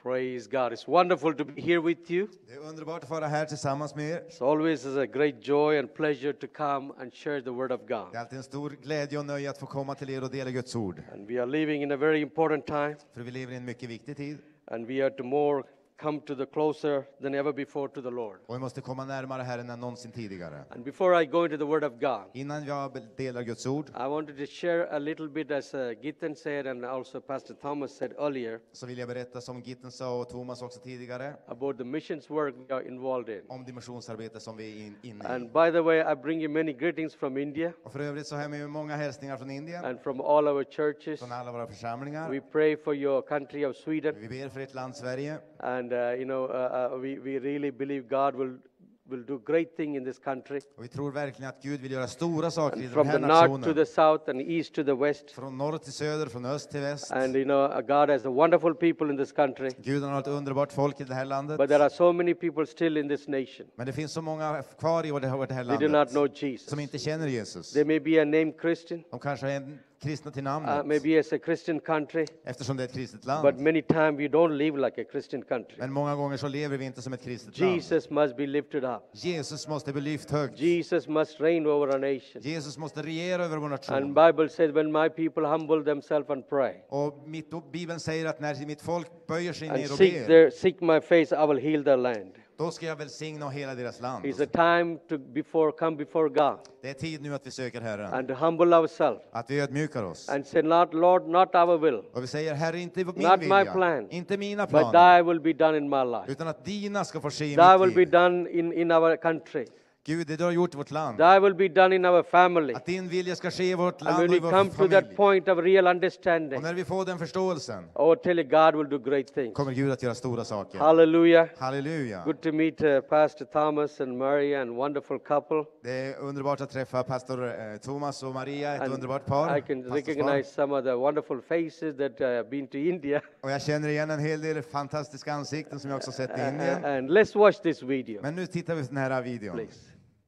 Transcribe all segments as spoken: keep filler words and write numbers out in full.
Praise God. It's wonderful to be here with you. Det är underbart att vara här tillsammans med er. It's always a great joy and pleasure to come and share the Word of God. Det är alltid en stor glädje och nöje att få komma till er och dela Guds ord. And we are living in a very important time. För vi lever i en mycket viktig tid. And we are to more come to the closer than ever before to the Lord. Och vi måste komma närmare Herren än någonsin tidigare. And before I go into the Word of God, Innan jag delar Guds ord I wanted to share a little bit, as uh, Gittin said and also Pastor Thomas said earlier, så vill jag berätta, som Gitten sa och Thomas också tidigare, about the missions work we are involved in. om dimensionsarbete som vi är in, inne i. And by the way, I bring you many greetings from India Och för övrigt så har jag med mig många hälsningar från Indien, and from all our churches. från alla våra församlingar. We pray for your country of Sweden. Vi ber för ert land Sverige. And uh, you know, uh, uh, we we really believe God will will do great thing in this country. Och vi tror verkligen att Gud vill göra stora saker i den From här the north to nationen. the south and east to the west. Från norr till söder, från öst till väst. And you know, uh, God has a wonderful people in this country. Gud har ett underbart folk i det här landet. But there are so many people still in this nation. Men det finns så många kvar i vårt det här They do landet not know Jesus. som inte känner Jesus. They may be a named Christian, De kanske är en kristna till uh, namnet, maybe it's a Christian country, eftersom det är ett kristet but land. many times we don't live like a Christian country. Men många gånger så lever vi inte som ett kristet land. Jesus must be lifted up. Jesus måste bli lyft högt. Jesus must reign over our nation. Jesus måste regera över vår And nation. Bible says, when my people humble themselves and pray Och mitt, Bibeln säger att när mitt folk böjer sig and ner och seek ber, their seek my face, I will heal their land. då ska jag välsigna hela deras land. It's a time to before come before God Det är tid nu att vi söker Herren. and to humble ourselves Att vi ödmjukar oss. and say, not Lord, not our will, Och vi säger, Herre, inte min Not my vilja, plan, inte mina but planer, thy will be done in my life. utan att dina ska få ske i Thy will mitt be liv. done in, in our country. Gud, det du har gjort i vårt land. Thy will be done in our family. Att din vilja ska ske i vårt And land when och i we vår come to that familj. point of real Och understanding, när vi får den förståelsen oh, tell you, God will do great things. kommer Gud att göra stora saker. Hallelujah. Halleluja. Good to meet uh, Pastor Thomas and Maria, and wonderful couple. Det är underbart att träffa pastor eh, Thomas och Maria, ett And underbart par. I can pastorspar. recognize some of the wonderful faces that uh, have been to India. Och jag känner igen en hel del fantastiska ansikten som jag också sett i Uh, Indien. and let's watch this video, Men nu tittar vi på den här videon. please.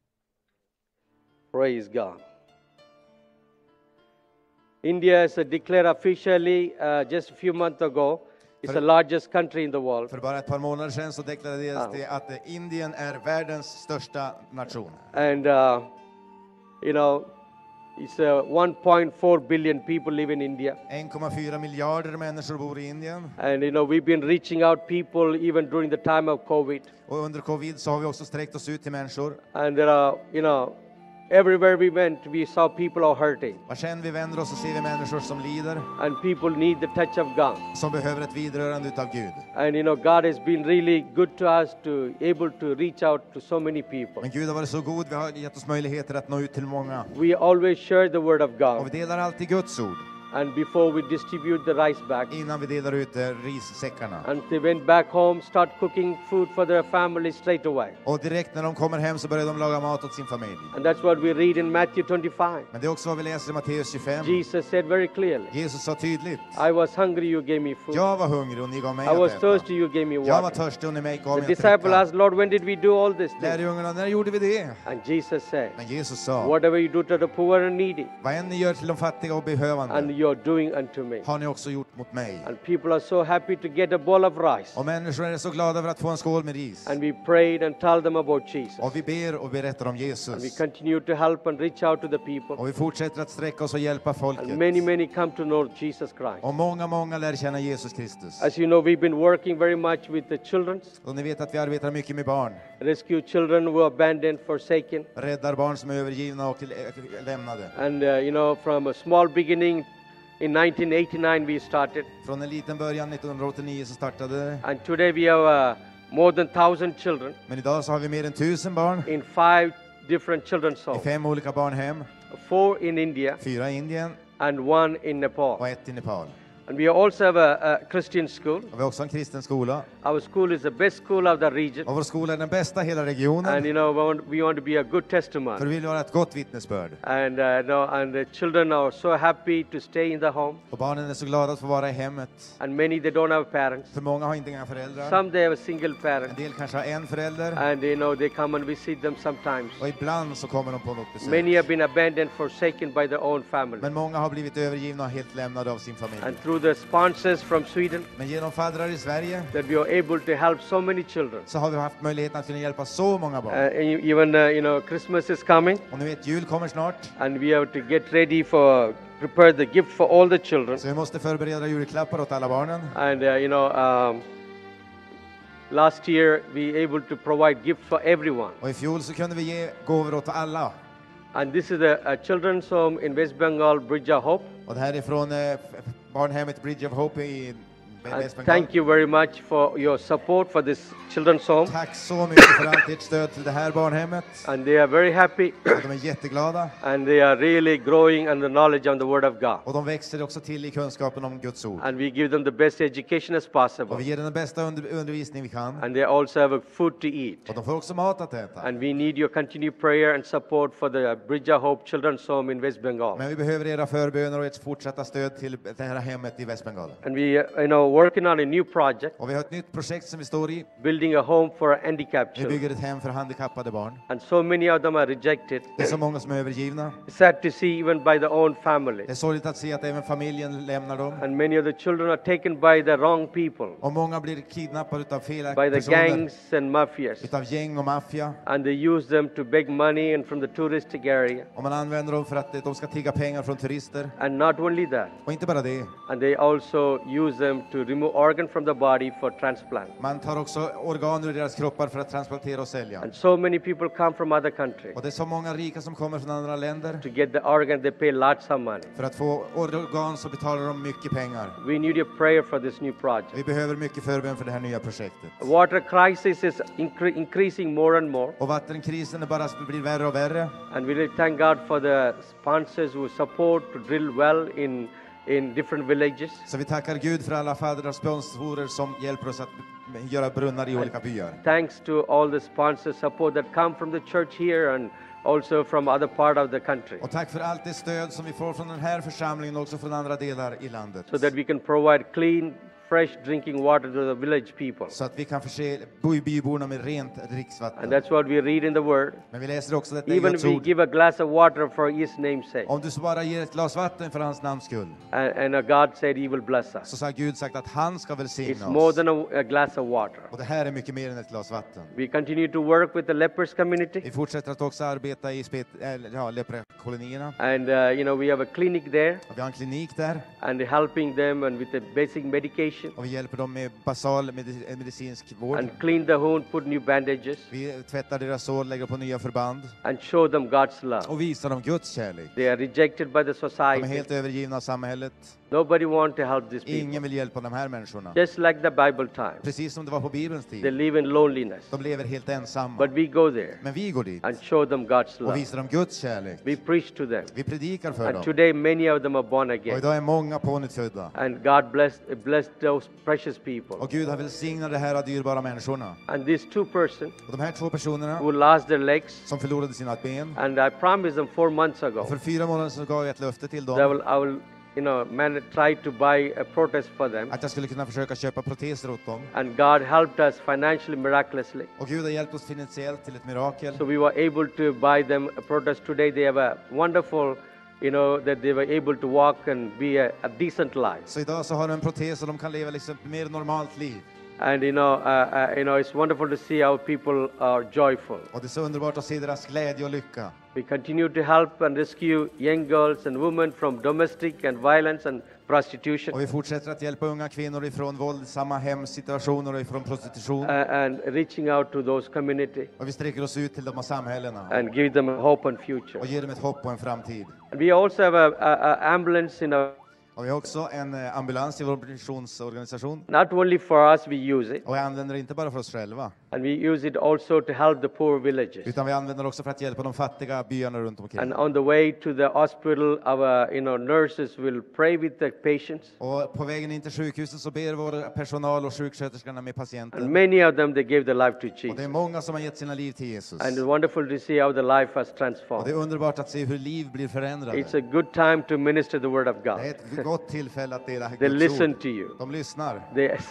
Praise God. India is uh, declared officially uh, just a few months ago. It's the largest country in the world. För bara ett par månader sedan så deklarerades Ah. det att eh, Indien är världens största nation. And, uh, you know, it's uh, one point four billion people live in India. en komma fyra miljarder människor bor i Indien. And, you know, we've been reaching out people even during the time of COVID. Och under covid så har vi också sträckt oss ut till människor. And there are, you know, everywhere we went, we saw people are hurting. Vart än vi vänder oss så ser vi människor som lider, And people need the touch of God. som behöver ett vidrörande utav Gud. And, you know, God has been really good to us to able to reach out to so many people. Men Gud har varit så god, vi har gett oss möjligheter att nå ut till många. We always share the word of Och God. vi delar alltid Guds ord And before we distribute the rice bag, innan vi delar ut eh, rissäckarna. and they went back home, start cooking food for their family straight away. Och direkt när de kommer hem så börjar de laga mat åt sin familj. And that's what we read in Matthew twenty-five. Men det är också vad vi läser i Matteus tjugofem. Jesus said very clearly, Jesus sa tydligt, I was hungry, you gave me food. jag var hungrig och ni gav mig I att was äta. thirsty, you gave me Jag var water. törstig och ni mig gav The mig att disciple dricka. asked, Lord, when did we do all this thing? Lärjungarna, när gjorde vi det? And Jesus said, Men Jesus sa, whatever you do to the poor and needy, vad än ni gör till de fattiga och and behövande you're doing unto me. har ni också gjort mot mig. And people are so happy to get a bowl of rice. Och människor är så glada över att få en skål med ris. And we prayed and told them about Jesus. Och vi ber och berättar om And we Jesus. continue to help and reach out to the people. Och vi fortsätter att sträcka oss och hjälpa And folket. many, many come to know Jesus Christ. Och många, många lär känna Jesus Kristus. As you know, we've been working very much with the children, Och ni vet att vi arbetar mycket med barn. rescue children who are abandoned, forsaken. Räddar barn som är övergivna och lämnade. And, uh, you know, from a small beginning in nineteen eighty-nine we started. Från en liten början nittonhundraåttionio så startade det. And today we have uh, more than one thousand children Men idag så har vi mer än tusen barn in five different children's i homes. fem olika barnhem. Four in India Fyra i Indien and one in Nepal. och ett i Nepal. And we also have a, a Christian school. Och vi har också en kristen skola. Our school is the best school of the region. Och vår skola är den bästa i hela And regionen. you know, we want, we want to be a good För testimony. vi vill vara ett gott vittnesbörd. And, uh, no, and the children are so happy to stay in the home. Och barnen är så glada att få vara i hemmet. And many, they don't have parents. För många har inte inga föräldrar. Some, they have a single En parent. del kanske har en förälder. And, you know, they come and visit them sometimes. Och ibland så kommer de på något besök. Many have been abandoned, forsaken by their own family. Men många har blivit övergivna och helt lämnade av sin familj. And through through the sponsors from Sweden Men genom faddrar i Sverige that we are able to help so many children. så har vi haft möjligheten att kunna hjälpa så många Uh, barn. and e- even uh, you know, Christmas is coming, Och ni vet, jul kommer snart. and we have to get ready for prepare the gift for all the children. Så vi måste förbereda julklappar åt alla barnen. And uh, you know, um, last year we able to provide gifts for everyone. Och i fjol så kunde vi ge gåvor åt alla. And this is a, a children's home in West Bengal, Bridge of Hope. Och det här är från eh, f- barnhemmet Bridge of Hope i And Väst Bengal. thank you very much for your support for this children's home. Tack så mycket för allt ert stöd till det här barnhemmet. And they are very happy, Och de är jätteglada. and they are really growing in the knowledge of the Word of God. Och de växer också till i kunskapen om Guds ord. And we give them the best education as Och possible. vi ger dem den bästa under, undervisning vi kan. And they also have a food to eat. Och de får också mat att äta. And we need your continued prayer and support for the Bridge of Hope Children's Home in West Bengal. Men vi behöver era förböner och ert fortsatta stöd till det här hemmet i Västbengal. And we, uh, you know, working on a new project, Och vi har ett nytt projekt som vi står i. building a home for handicapped Vi children. bygger ett hem för handikappade barn. And so many of them are rejected. Det är så många som är övergivna. It's sad to see even by their own family. Det är sorgligt att se att även familjen lämnar dem. And many of the children are taken by the wrong people, Och många blir kidnappade utav fel by the personer. gangs and mafias. Utav gäng och maffia. And they use them to beg money and from the touristic area. Och man använder dem för att de ska tigga pengar från turister. And not only that, Och inte bara det. and they also use them to remove organ from the body for transplant. Man tar också organ ur deras kroppar för att transplantera och sälja. And so many people come from other countries Och det är så många rika som kommer från andra länder. to get the organ. They pay lots of money. För att få organ så betalar de mycket pengar. We need your prayer for this new project. Vi behöver mycket förbön för det här nya projektet. Water crisis is incre- increasing more and more. Och vattenkrisen är bara blir värre och värre. And we really thank God for the sponsors who support to drill well in, in different villages. Så vi tackar Gud för alla faddrar och sponsorer som hjälper oss att göra brunnar i olika byar. Thanks to all the sponsor support that come from the church here and also from other part of the country, Och tack för allt det stöd som vi får från den här församlingen och också från andra delar i landet. so that we can provide clean, fresh drinking water to the village people. Så att vi kan förse by- byborna med rent And dricksvatten. that's what we read in the Word. Men vi läser också detta i Even Guds we ord. give a glass of water for His name's sake. Om du så bara ger ett glas vatten för hans namns skull, And, and uh, God said He will bless us. så har Gud sagt att han ska It's välsigna more oss. than a, a glass of water. Och det här är mycket mer än ett glas vatten. We continue to work with the lepers community. Vi fortsätter att också arbeta i spet, eller, ja, leprakolonierna. And uh, you know, we have a clinic there Och vi har en klinik där and helping them and with the basic medication och vi hjälper dem med basal medi- medicinsk vård. and clean the wound, put new bandages Vi tvättar deras sår, lägger på nya förband and show them God's love. och visar dem Guds kärlek. They are rejected by the De är society. helt övergivna av samhället. Nobody want to help these people. Ingen vill hjälpa de här människorna. Just like the Bible times, Precis som det var på Bibelns they tid. live in loneliness. De lever helt ensamma. But we go there Men vi går dit and show them God's och love. visar dem Guds kärlek. We preach to them. Vi predikar för And dem. today many of them are born Och again. idag är många pånyttfödda. And God blessed, blessed those precious people. Och Gud har välsignat de här dyrbara människorna. And these two persons Och de här två personerna who lost their legs, som förlorade sina ben. and I promised them four months ago Och för fyra månader sedan gav jag ett löfte till that I dem will, I will you know, man, try to buy a protest for them. att jag skulle kunna försöka köpa proteser åt dem. And God helped us financially, miraculously. Och Gud har hjälpt oss finansiellt till ett mirakel. So we were able to buy them a protest today. They have a wonderful, you know, that they were able to walk and be a, a decent life. Så idag så har de en protes och de kan leva liksom ett mer normalt liv. And you know, uh, uh, you know, it's wonderful to see how people are joyful. Och det är så underbart att se deras glädje och lycka. We continue to help and rescue young girls and women from domestic and violence and prostitution, Och vi fortsätter att hjälpa unga kvinnor ifrån våldsamma hemsituationer och ifrån prostitution. uh, and reaching out to those community Och vi sträcker oss ut till de här samhällena and give them a hope and future. och ger dem ett hopp och en framtid. And we also have a, a, a ambulance in our, Och vi har också en eh, ambulans i vår missionsorganisation. not only for us we use it, Och vi använder det inte bara för oss själva, and we use it also to help the poor villages. utan vi använder det också för att hjälpa de fattiga byarna runt omkring. And on the way to the hospital, our you know nurses will pray with the patients. Och på vägen in till sjukhuset så ber vår personal och sjuksköterskorna med And patienten. many of them, they gave their life to Och det är Jesus. många som har gett sina liv till Jesus. And it's wonderful to see how the life has Och det transformed. är underbart att se hur liv blir förändrade. It's a good time to minister the word of Det är God. ett gott tillfälle att dela They Guds listen ord. to you. De lyssnar. They say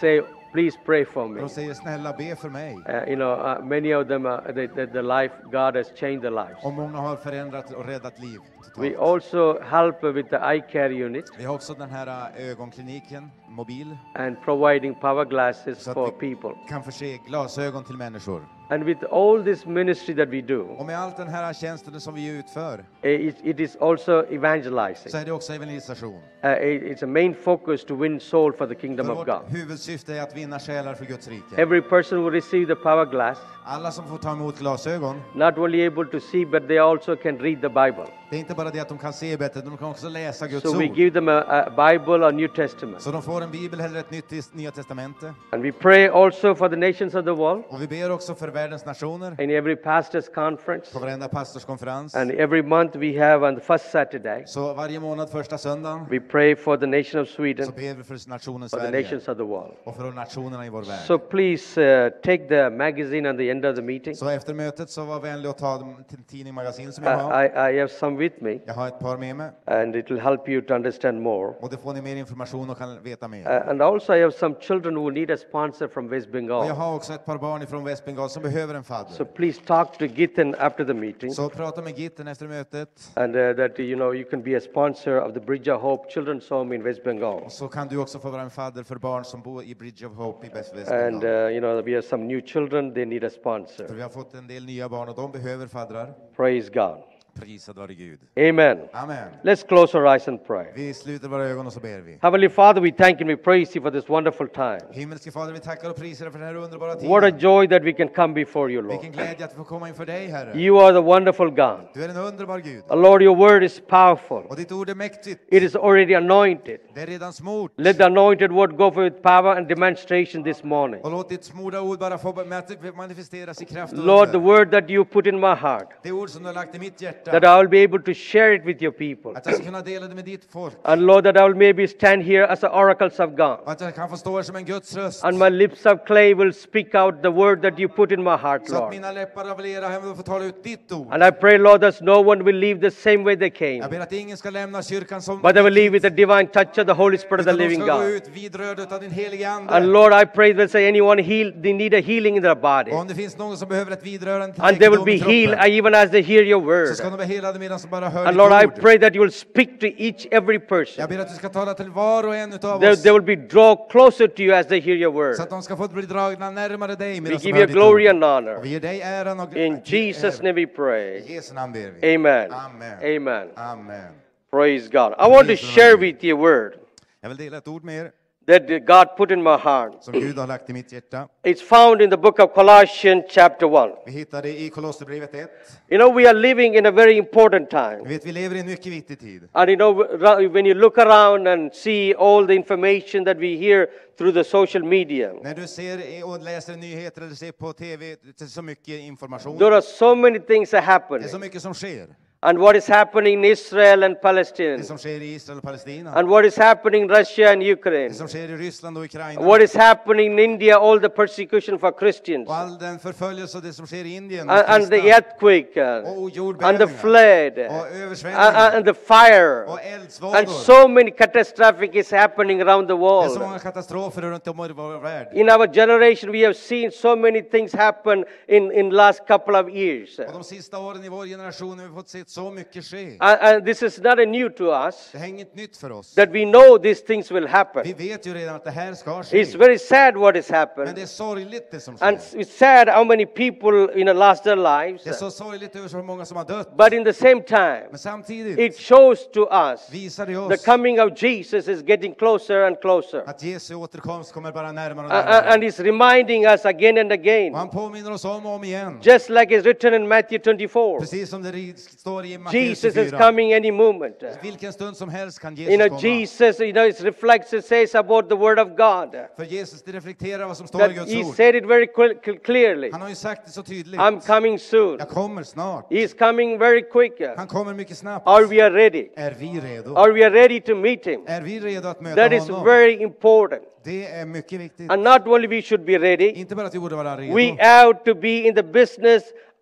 please pray for Och me. de säger snälla be för mig. Uh, you know, uh, many of them, uh, the, the, the life, God has changed their lives. Och många har förändrat och räddat liv. We Totalt. also help with the eye care unit Vi har också den här äh, ögonkliniken, mobil, and providing power glasses så for att vi people. kan förse glasögon till människor. And with all this ministry that we do, Och med allt den här tjänsten som vi utför uh, it, it is also evangelizing. så är det också evangelisation. Uh, it- it's a main focus to win soul for the kingdom För of vårt God. huvudsyfte är att vinna själar för Guds rike. Every person who receive the power glass, Alla som får ta emot glasögon, not only able to see, but they also can read the Bible. det är inte bara det att de kan se bättre, de kan också läsa Guds So we ord. give them a, a Bible or New Testament. Så de får en bibel eller ett nytt tes- nya testamente. And we pray also for the nations of the world Och vi ber också för världens nationer in every pastor's conference. på varenda pastorskonferens. And every month we have on the first Saturday, Så varje månad, första söndagen, we pray for the nation of Sweden, så ber vi för nationen for the Sverige nations of the world. och för nationerna i vår värld. So please uh, take the magazine at the end of the meeting. Så efter mötet så var vänlig att ta dem till tidning magasin som I, jag har. I, I have some with me, Jag har ett par med mig. and it will help you to understand more. Och då får ni mer information och kan veta mer. Uh, and also I have some children who need a sponsor from West Och jag Bengal. har också ett par barn från Västbengal som behöver en So fadder. please talk to Gittin after the meeting, Så prata med Gitten efter mötet. and uh, that you know you can be a sponsor of the Bridge of Hope Children's Home in West Bengal. Och så kan du också få vara en fadder för barn som bor i Bridge of Hope i Väst- And Västbengal. uh, you know we have some new children; they need a För sponsor. vi har fått en del nya barn och de behöver faddrar. Praise God. Prisad vare Gud. Amen. Amen. Let's close our eyes and pray. Vi sluter våra ögon och så ber vi. Heavenly Father, we thank and we praise you for this wonderful time. Himmelske Fader, vi tackar och prisar dig för den här underbara What a tiden. joy that we can come before you, Vilken Lord. glädje att vi får komma inför dig, Herre. You are the wonderful God. Du är en underbar Gud. Uh, Lord, your word is powerful. Och ditt ord är mäktigt. It is already anointed. Det är redan smort. Let the anointed word go forth with power and demonstration this morning. Och låt ditt smorda ord bara få manifesteras i kraft och Lord, the under. word that you put in my heart, Det ord som du har lagt i mitt hjärta. that I will be able to share it with your people. Att jag ska kunna dela det med ditt folk. And Lord, that I will maybe stand here as the oracles of God. Och att jag kan få stå här som en Guds röst. And my lips of clay will speak out the word that you put in my heart, Så att Lord. mina läppar av lera hem och få tala ut ditt ord. And I pray, Lord, that no one will leave the same way they came, Jag ber att ingen ska lämna kyrkan som but they will leave with the divine touch of the Holy Spirit of the utan de living ska gå God. ut vidrörda utav din heliga And ande. Lord, I pray that say anyone heal, they need a healing in their body. Och om det finns någon som behöver ett vidrörande till And they will läkedom be i kroppen, healed even as they hear your så word. ska de vara helade medan de bara hör And Lord, I ditt ord. pray that you will speak to each every person. Jag ber att du ska tala till var och en utav They, oss. they will be draw closer to you as they hear your word. Så att de ska få bli dragna närmare dig We medan de give hör you ditt glory ord. and honor. Och vi ger dig äran och In Jesus' name we pray. I Jesu namn ber vi. Amen. Amen. Amen. Amen. Praise God. I want to share with you a word Jag vill dela ett ord med er that God put in my heart. som Gud har lagt i mitt hjärta. It's found in the book of Colossians chapter one. Vi hittar det i Kolosserbrevet ett. You know, we are living in a very important time. Vi vet, vi lever i en mycket viktig tid. And you know, ra- when you look around and see all the information that we hear through the social media, När du ser och läser nyheter eller ser på T V, det är så mycket information. there are so many things that happen. Det är så mycket som sker. And what is happening in Israel and Palestine, Det som sker i Israel och Palestina. and what is happening in Russia and Ukraine, Det som sker i Ryssland och Ukraina. what is happening in India, all the persecution for Christians, Och all den förföljelse och det som sker i Indien. and, and the earthquake, uh, Och and the jordbävningar. flood, Och and, översvämningar. and the fire, Och and eldsvådor. so many catastrophic is happening around the Det är så world. många katastrofer runt om i vår värld. In our generation, we have seen so many things happen in in last couple of years, Och de sista åren i vår generation har vi fått se så mycket ske. and, and this is not a new to us. Det är inget nytt för oss. That we know these things will happen. Vi vet ju redan att det här ska ske. It's very sad what has Men happened. det är sorgligt det som And sker. it's sad how many people you know lost their lives. Det är så sorgligt över så många som har dött. But in the same time, Men samtidigt it shows to us visar det the oss coming of Jesus is getting closer and closer. att Jesu återkomst kommer bara närmare och Uh, uh, närmare. and he's reminding us again and Och again, han påminner oss om och om igen. just like it's written in Matthew twenty-four. Precis som det ri- står i Matteus Jesus is tjugofyra. coming any moment. Vilken stund som helst kan You Jesus know, komma. Jesus, you know, it reflects, it says about the word of God. För Jesus det reflekterar vad som står That i Guds he ord. said it very cl- clearly. Han har ju sagt det så tydligt. I'm coming soon. Jag kommer snart. He's coming very quick. Han kommer mycket snabbt. Are we are ready? Är vi redo? Are we ready to meet him? Är vi redo att möta That is honom? very important. Det är mycket viktigt. And not only we should be ready, Inte bara att vi borde vara redo. we have to be in the business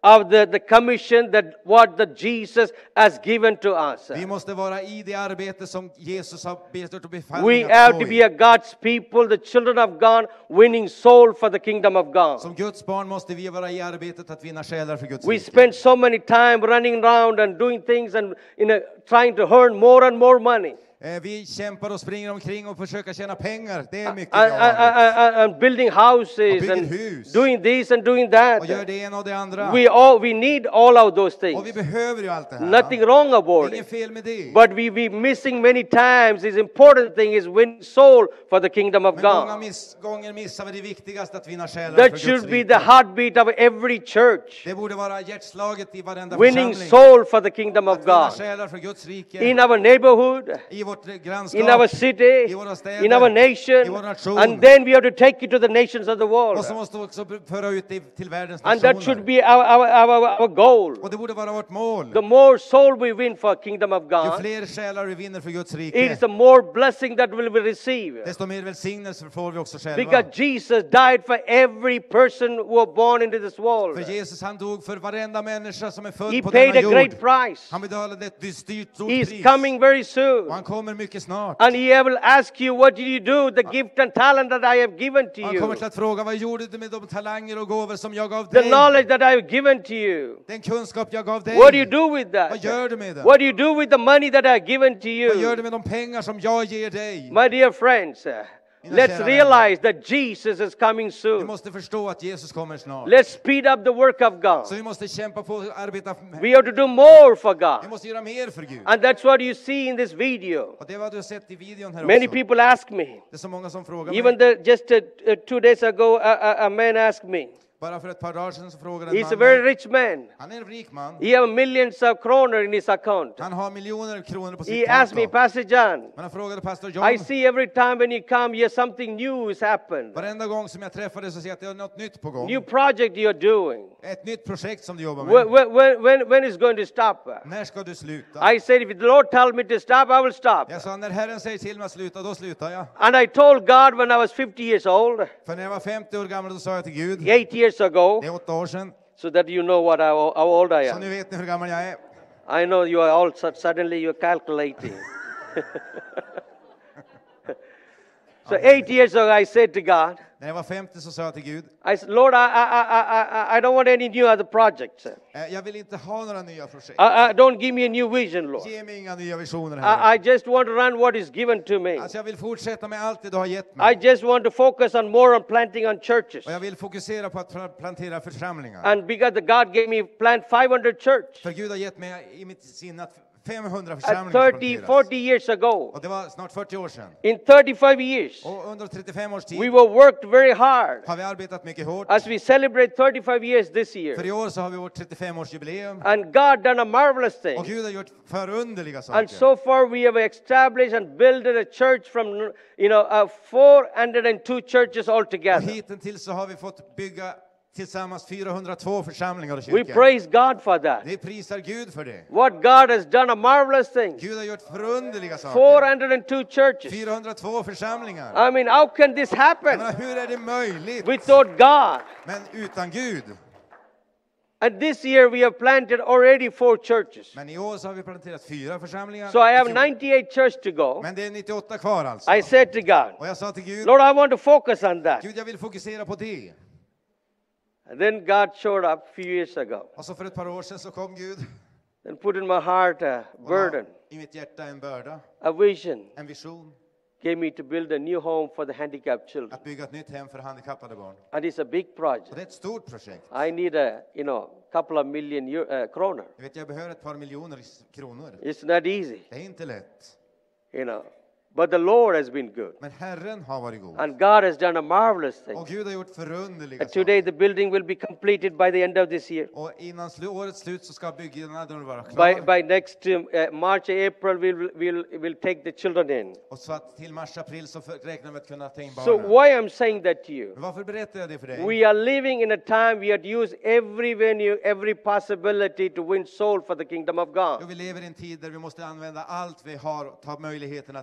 of the, the commission that what the Jesus has given to us. Vi måste vara i det arbete som Jesus har bett och We befallt have att to gå be i. a God's people, the children of God, winning soul for the kingdom of God. Som Guds barn måste vi vara i arbetet att vinna själar för Guds We rike. spend so many time running around and doing things and you know, trying to earn more and more money. Eh, Vi kämpar och springer omkring och försöker tjäna pengar. Det är mycket And, vi and, har. and, and building houses bygger and hus. doing this and doing Och that. gör det ena och det andra. We all we need all of those things. Och vi behöver ju allt det här. Nothing wrong Det är about inget it. fel med det. But we we missing many times. This important thing is win soul for the kingdom of Men många God. miss, gånger missar vi det viktigaste, att vinna själar That för should Guds be rike. the heartbeat of every church. Det borde vara hjärtslaget i varenda Winning församling. soul for the kingdom of Att vinna God. själar för Guds rike. In our neighborhood, I vårt grannskap. in our city, I våra städer, in our i nation, vår nation. and then we have to take it to the nations of the world. Och så måste vi också föra ut det till världens And that should nationer. be our, our, our, our goal. Och det borde vara vårt mål. The more soul we win for kingdom of Ju God, fler själar vi vinner för Guds it rike, is the more blessing that will we receive. desto mer välsignelse får vi också själva. Because Jesus died for every person who was born into this world. För Jesus, han dog för varenda människa som är född He på paid denna a great jord. price. Han betalade ett dyrt stort He's pris. coming very Och soon. han kommer mycket snart. And he will ask you, what did you do? The gift and talent that I have given to Han kommer you. till att fråga, vad gjorde du med de talanger och gåvor som jag gav The dig? knowledge that I have given to you. Den kunskap jag gav dig. What do you do with Vad that? gör du med den? What do you do with the money that I have given to Vad gör you? du med de pengar som jag ger dig? My dear friends, uh, let's kära realize that Jesus is coming Vi soon. måste förstå att Jesus kommer snart. Let's speed up the work of God. Så vi måste kämpa på och arbeta. We have to do more for Vi God. måste göra mer för Gud. And that's what you see in this video. Och det är vad du har sett i videon här Many också. people ask me. Det är så många som frågar Even mig. the, just uh, uh, two days ago, a, a, a man asked me. Bara för ett par dagar sedan så frågade en He's a man very mig. rich man. Han är en rik man. He has millions of kroner in his account. Han har miljoner kronor på He sitt asked me, konto. Pastor John, Men han frågade pastor I John. see every time when you come here something new has happened. Varenda gång som jag träffar dig så ser jag att det är något nytt på gång. New project you're doing. Ett nytt projekt som du jobbar When, med. when, when, when is going to stop? När ska du sluta? I said, if the Lord tells me to stop, I will stop. Jag sa, när Herren säger till mig att sluta, då slutar jag. And I told God when I was fifty years old, För när jag var femtio år gammal, då sa jag till Gud. eight years ago, Det är åtta år sedan. so that you know what I, how old I Så am. nu vet ni hur gammal jag är. I know you are all su- suddenly you're calculating. So eight years ago, I said to God, När jag var femtio så sa jag till Gud. I said, Lord, I, I, I, I, I don't want any new other projects. eh, Jag vill inte ha några nya projekt. I, I, don't give me a new vision, Lord. Ge mig inga nya visioner här. I, I just want to run what is given to me. Alltså jag vill fortsätta med allt det du har gett I mig. just want to focus on more on planting on churches. Och jag vill fokusera på att pla- plantera församlingar. And because the God gave me plant five hundred church För Gud har gett mig i mitt sinne att femhundra at församlingar ska thirty, planteras. forty years ago. Och det var snart fyrtio år sedan. In thirty-five years, Och under trettiofem års tid we were worked very hard har vi arbetat mycket hårt. as we celebrate thirty-five years this För year. i år så har vi vårt trettiofem-årsjubileum. And God done a marvelous Och thing. Gud har gjort förunderliga And saker. so far we have established and built a church from, you know, uh, four hundred two churches Och altogether. hittills så har vi fått bygga tillsammans fyrahundratvå församlingar och We kyrkor. praise God for that. Vi prisar Gud för det. What God has done a marvelous thing. Gud har gjort förunderliga four saker. hundred two churches. fyrahundratvå församlingar. I mean, how can this Jag happen menar, hur är det möjligt? without God? Men utan Gud. And this year we have planted already four churches. Men i år så har vi planterat fyra församlingar. So I have I fjol. ninety-eight churches to go. Men det är nittioåtta kvar alltså. I said to God, Och jag sa till Gud, Lord, I want to focus on that. Gud jag vill fokusera på det. And then God showed up a few years ago Och så för ett par år sedan så kom Gud and put in my heart a och la burden, i mitt hjärta en börda, a vision, en vision, gave me to build a new home for the handicapped children. att bygga ett nytt hem för handikappade barn. And it's a big Och project. det är ett stort projekt. I need a, you know, couple of million euro, uh, kronor. Jag vet, jag behöver ett par miljoner kronor. It's not easy, Det är inte lätt. you know. But the Lord has been good. Men Herren har varit god. And God has done a marvelous thing. Och Gud har gjort förunderliga And today saker. the building will be completed by the end of this year. Och innan slu- årets slut så ska byggnaden vara By, klar. by next um, uh, March, April, we'll, we'll, we'll take the children in. Och så att till mars, april så för- räknar vi med att kunna ta in So barnen. why I'm saying that to you? Men varför berättar jag det för dig? We are living in a time we have to use every venue, every possibility to win soul for the kingdom of Jo, God. vi lever i en tid där vi måste använda allt vi har och ta möjligheten att vinna själar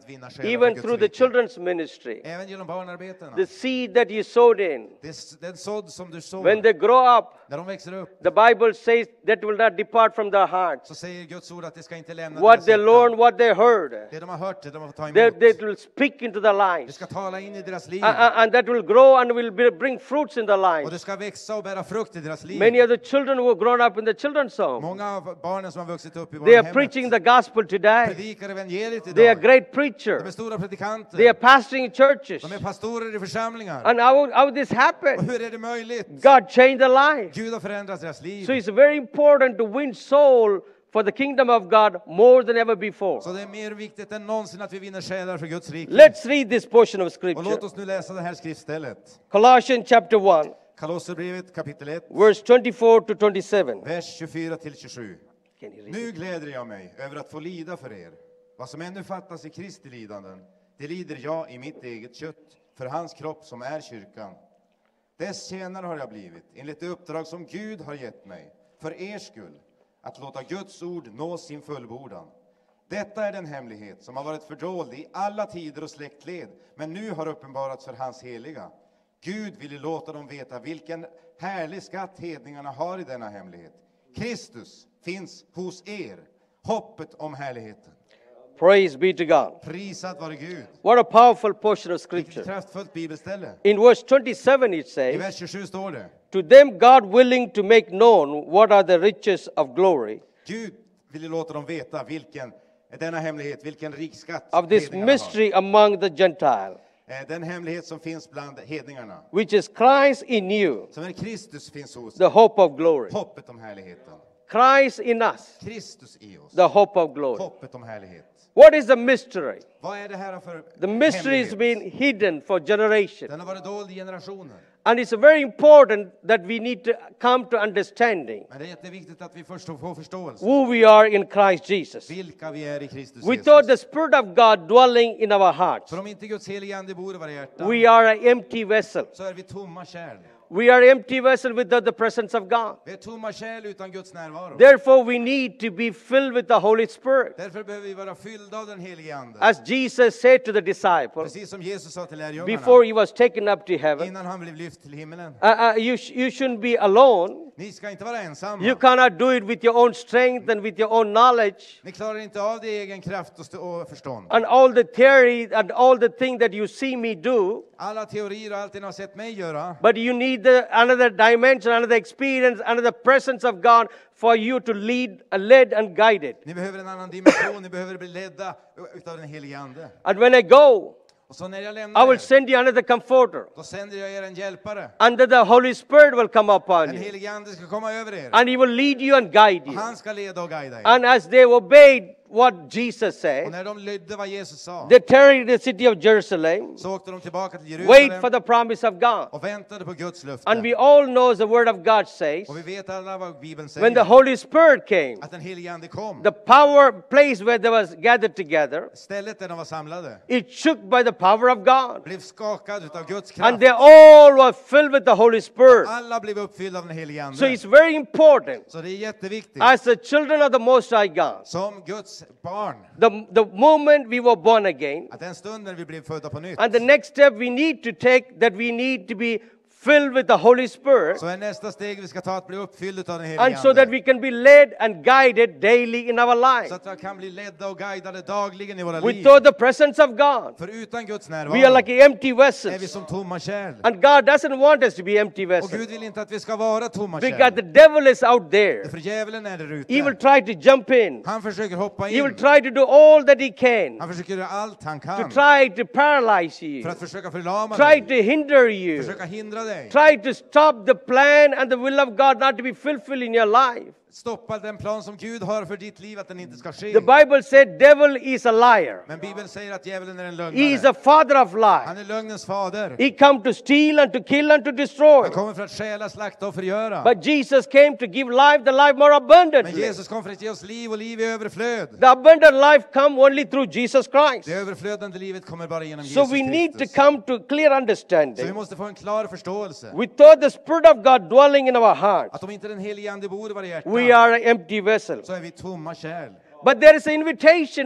själar för even Guds through the rike. children's ministry. Även genom barnarbetena. The seed that you sowed in, Det är den sådd som du sår. when they grow up, När de växer upp the Bible says that will not depart from their hearts. så säger Guds ord att det ska inte lämna What deras they hjärtan. learned, what they heard, Det de har hört, det de har tagit they, emot. they will speak into their Det lives. ska tala in i deras liv. Uh, uh, and that will grow and will be, bring fruits in their Och lives. det ska växa och bära frukt i deras liv. Many of the children who have grown up in the children's home, Många av barnen som har vuxit upp i they are barnhemmet preaching the gospel today. predikar evangeliet They are idag. great De är preachers. stora predikanter. They are pastoring churches. De är pastorer i församlingar. And how, how this Och happened? hur är det möjligt? God changed their lives. Gud har förändrat deras liv. So it's very important to win soul for the kingdom of God more than ever before. Så det är mer viktigt än någonsin att vi vinner själar för Guds rike. Let's read this portion of Och scripture. låt oss nu läsa det här skriftstället. Colossians chapter one, Kolosserbrevet kapitel ett, verse twenty-four to twenty-seven. vers tjugofyra till tjugosju. Can you read? Nu gläder jag mig över att få lida för er. Vad som ännu fattas i Kristi lidanden, det lider jag i mitt eget kött, för hans kropp som är kyrkan. Dess tjänare har jag blivit, enligt det uppdrag som Gud har gett mig, för er skull, att låta Guds ord nå sin fullbordan. Detta är den hemlighet som har varit fördold i alla tider och släktled, men nu har uppenbarats för hans heliga. Gud ville låta dem veta vilken härlig skatt hedningarna har i denna hemlighet. Kristus finns hos er, hoppet om härligheten. Praise be to God. Prisad vare Gud. What a powerful portion of Vilket scripture. kraftfullt bibelställe. In verse twenty-seven it I says, vers tjugosju står det: to them God willing to make known what are the riches of glory Gud ville låta dem veta vilken är denna hemlighet, vilken rik skatt of this hedningarna har. mystery among the Gentiles, Eh, Den hemlighet som finns bland hedningarna, which is Christ in you, som är Kristus finns hos the hope of glory. hoppet om härligheten. Christ in us, Kristus i oss, the hope of glory. hoppet om härlighet. What is the mystery? Vad är det här för The mystery has hemlighet? been hidden for generations. Den har varit dold i generationer. And it's very important that we need to come to understanding Men det är jätteviktigt att vi först får förståelse. who we are in Christ Jesus. Vilka vi är i Kristus Without the Jesus. Spirit of God dwelling in our hearts, För om inte Guds heliga ande bor i våra hjärtan, we are an empty vessel. så är vi tomma kärl. We are empty vessel without the presence of God. Vi är tomma kärl utan Guds närvaro. Therefore, we need to be filled with the Holy Spirit. Därför behöver vi vara fyllda av den helige ande. As Jesus said to the disciples Precis som Jesus sa till before lärjungarna he was taken up to heaven, innan han blev lyft till himmelen. uh, uh, you, sh- you shouldn't be alone. Ni ska inte vara ensamma. You cannot do it with your own strength and with your own knowledge Ni klarar inte av det i egen kraft och, st- och förstånd. and all the theory and all the things that you see me do. Alla teorier och allt det ni har sett mig göra. But you need the, another dimension, another experience, another presence of God for you to lead, uh, led and guided. Ni behöver en annan dimension. Ni behöver bli ledda utav den helige ande. And when I go, Och så när jag I lämnar will er, send you another comforter. då sänder jag er en hjälpare. And then the Holy Spirit will come upon Den you. helige ande ska komma över er. And he will lead you and guide Och you. han ska leda och guida er. And as they obeyed what Jesus Och said, när de lydde vad Jesus sa, they tarried in the city of Jerusalem, så åkte de tillbaka till wait for Jerusalem the promise of God. och väntade på Guds löfte. And we all know the word of God says, Och vi vet alla vad Bibeln when the säger. Holy Spirit came, Att den helige ande kom. the power place where they was gathered together, Stället där de var samlade it shook by the power of God. blev skakad utav Guds And kraft. they all were filled with the Holy Spirit. Alla blev uppfyllda av den helige So ande. it's very important Så det är jätteviktigt. as the children of the Most High God, Som Guds barn. the, the moment we were born again, Att den stunden vi blev födda på nytt. and the next step we need to take, that we need to be filled with the Holy Spirit, Så är nästa steg vi ska ta att bli uppfylld av den helige and so that ande. we can be led and guided daily in our Så life. att vi kan bli ledda och guidade dagligen i våra liv. Without the presence of God, För utan Guds we are närvaro like empty är vi vessels. som tomma kärl. And God doesn't want us to be empty Och vessels, Gud vill inte att vi ska vara tomma because kärl. the devil is out there. För djävulen är där He will ute. try to jump in. Han försöker hoppa He will in. try to do all that he can Han försöker göra allt han to kan try to paralyze you, för att försöka förlama try dig. to hinder you, Försöka hindra dig. try to stop the plan and the will of God not to be fulfilled in your life. Stoppa den plan som Gud har för ditt liv, att den inte ska ske. The Bible said devil is a liar. Men Bibeln säger att djävulen är en He is lögnare. a father of Han lies. är lögnens fader. He come to steal and to kill and to destroy. Han kommer för att stjäla, slakta och förgöra. But Jesus came to give life, the life more Men abundantly. Jesus kom för att ge oss liv och liv i överflöd. The abundant life come only through Jesus Christ. Det överflödande livet kommer bara genom So Jesus we need to Kristus. come to clear Så vi understanding. måste få en klar förståelse. Without the Spirit of God dwelling in our hearts, Att om inte den helige ande bor i våra we hjärtan, are an empty vessel. så är vi tomma kärl. But there is an invitation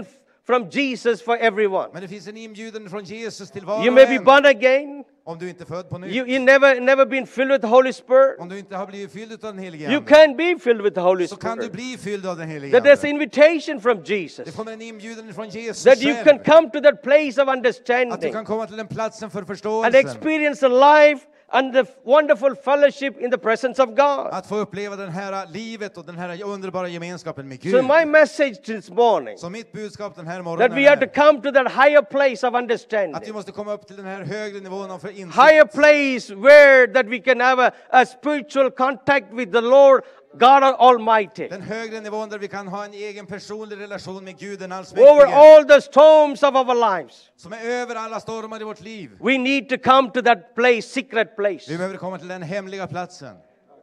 from Jesus for everyone. Men det finns en inbjudan från Jesus till var You och may be en. born again. Om du inte är född på nytt. You, you never, never been filled with the Holy Spirit. Om du inte har blivit fylld av den helige You Ande. can be filled with the Holy Så kan du Spirit. bli fylld av den helige That there's an Ande. invitation from Jesus. Det kommer en inbjudan från Jesus That you can själv. come to that place of Att du understanding kan komma till den platsen för and förståelsen. experience the life and the wonderful fellowship in the presence of God. Att få uppleva den här livet och den här underbara gemenskapen med So Gud. my message this morning, Så mitt budskap den här that morgonen we have to är come to that higher place of att vi understanding. måste komma upp till den här högre nivån av insikt. Higher place where that we can have a, a spiritual contact with the Lord God Almighty. Den högre nivån där vi kan ha en egen personlig relation med Gud den Over allsmäktige. all the storms of our lives. Som är över alla stormar i vårt liv. We need to come to that place, secret place. Vi behöver komma till den hemliga platsen.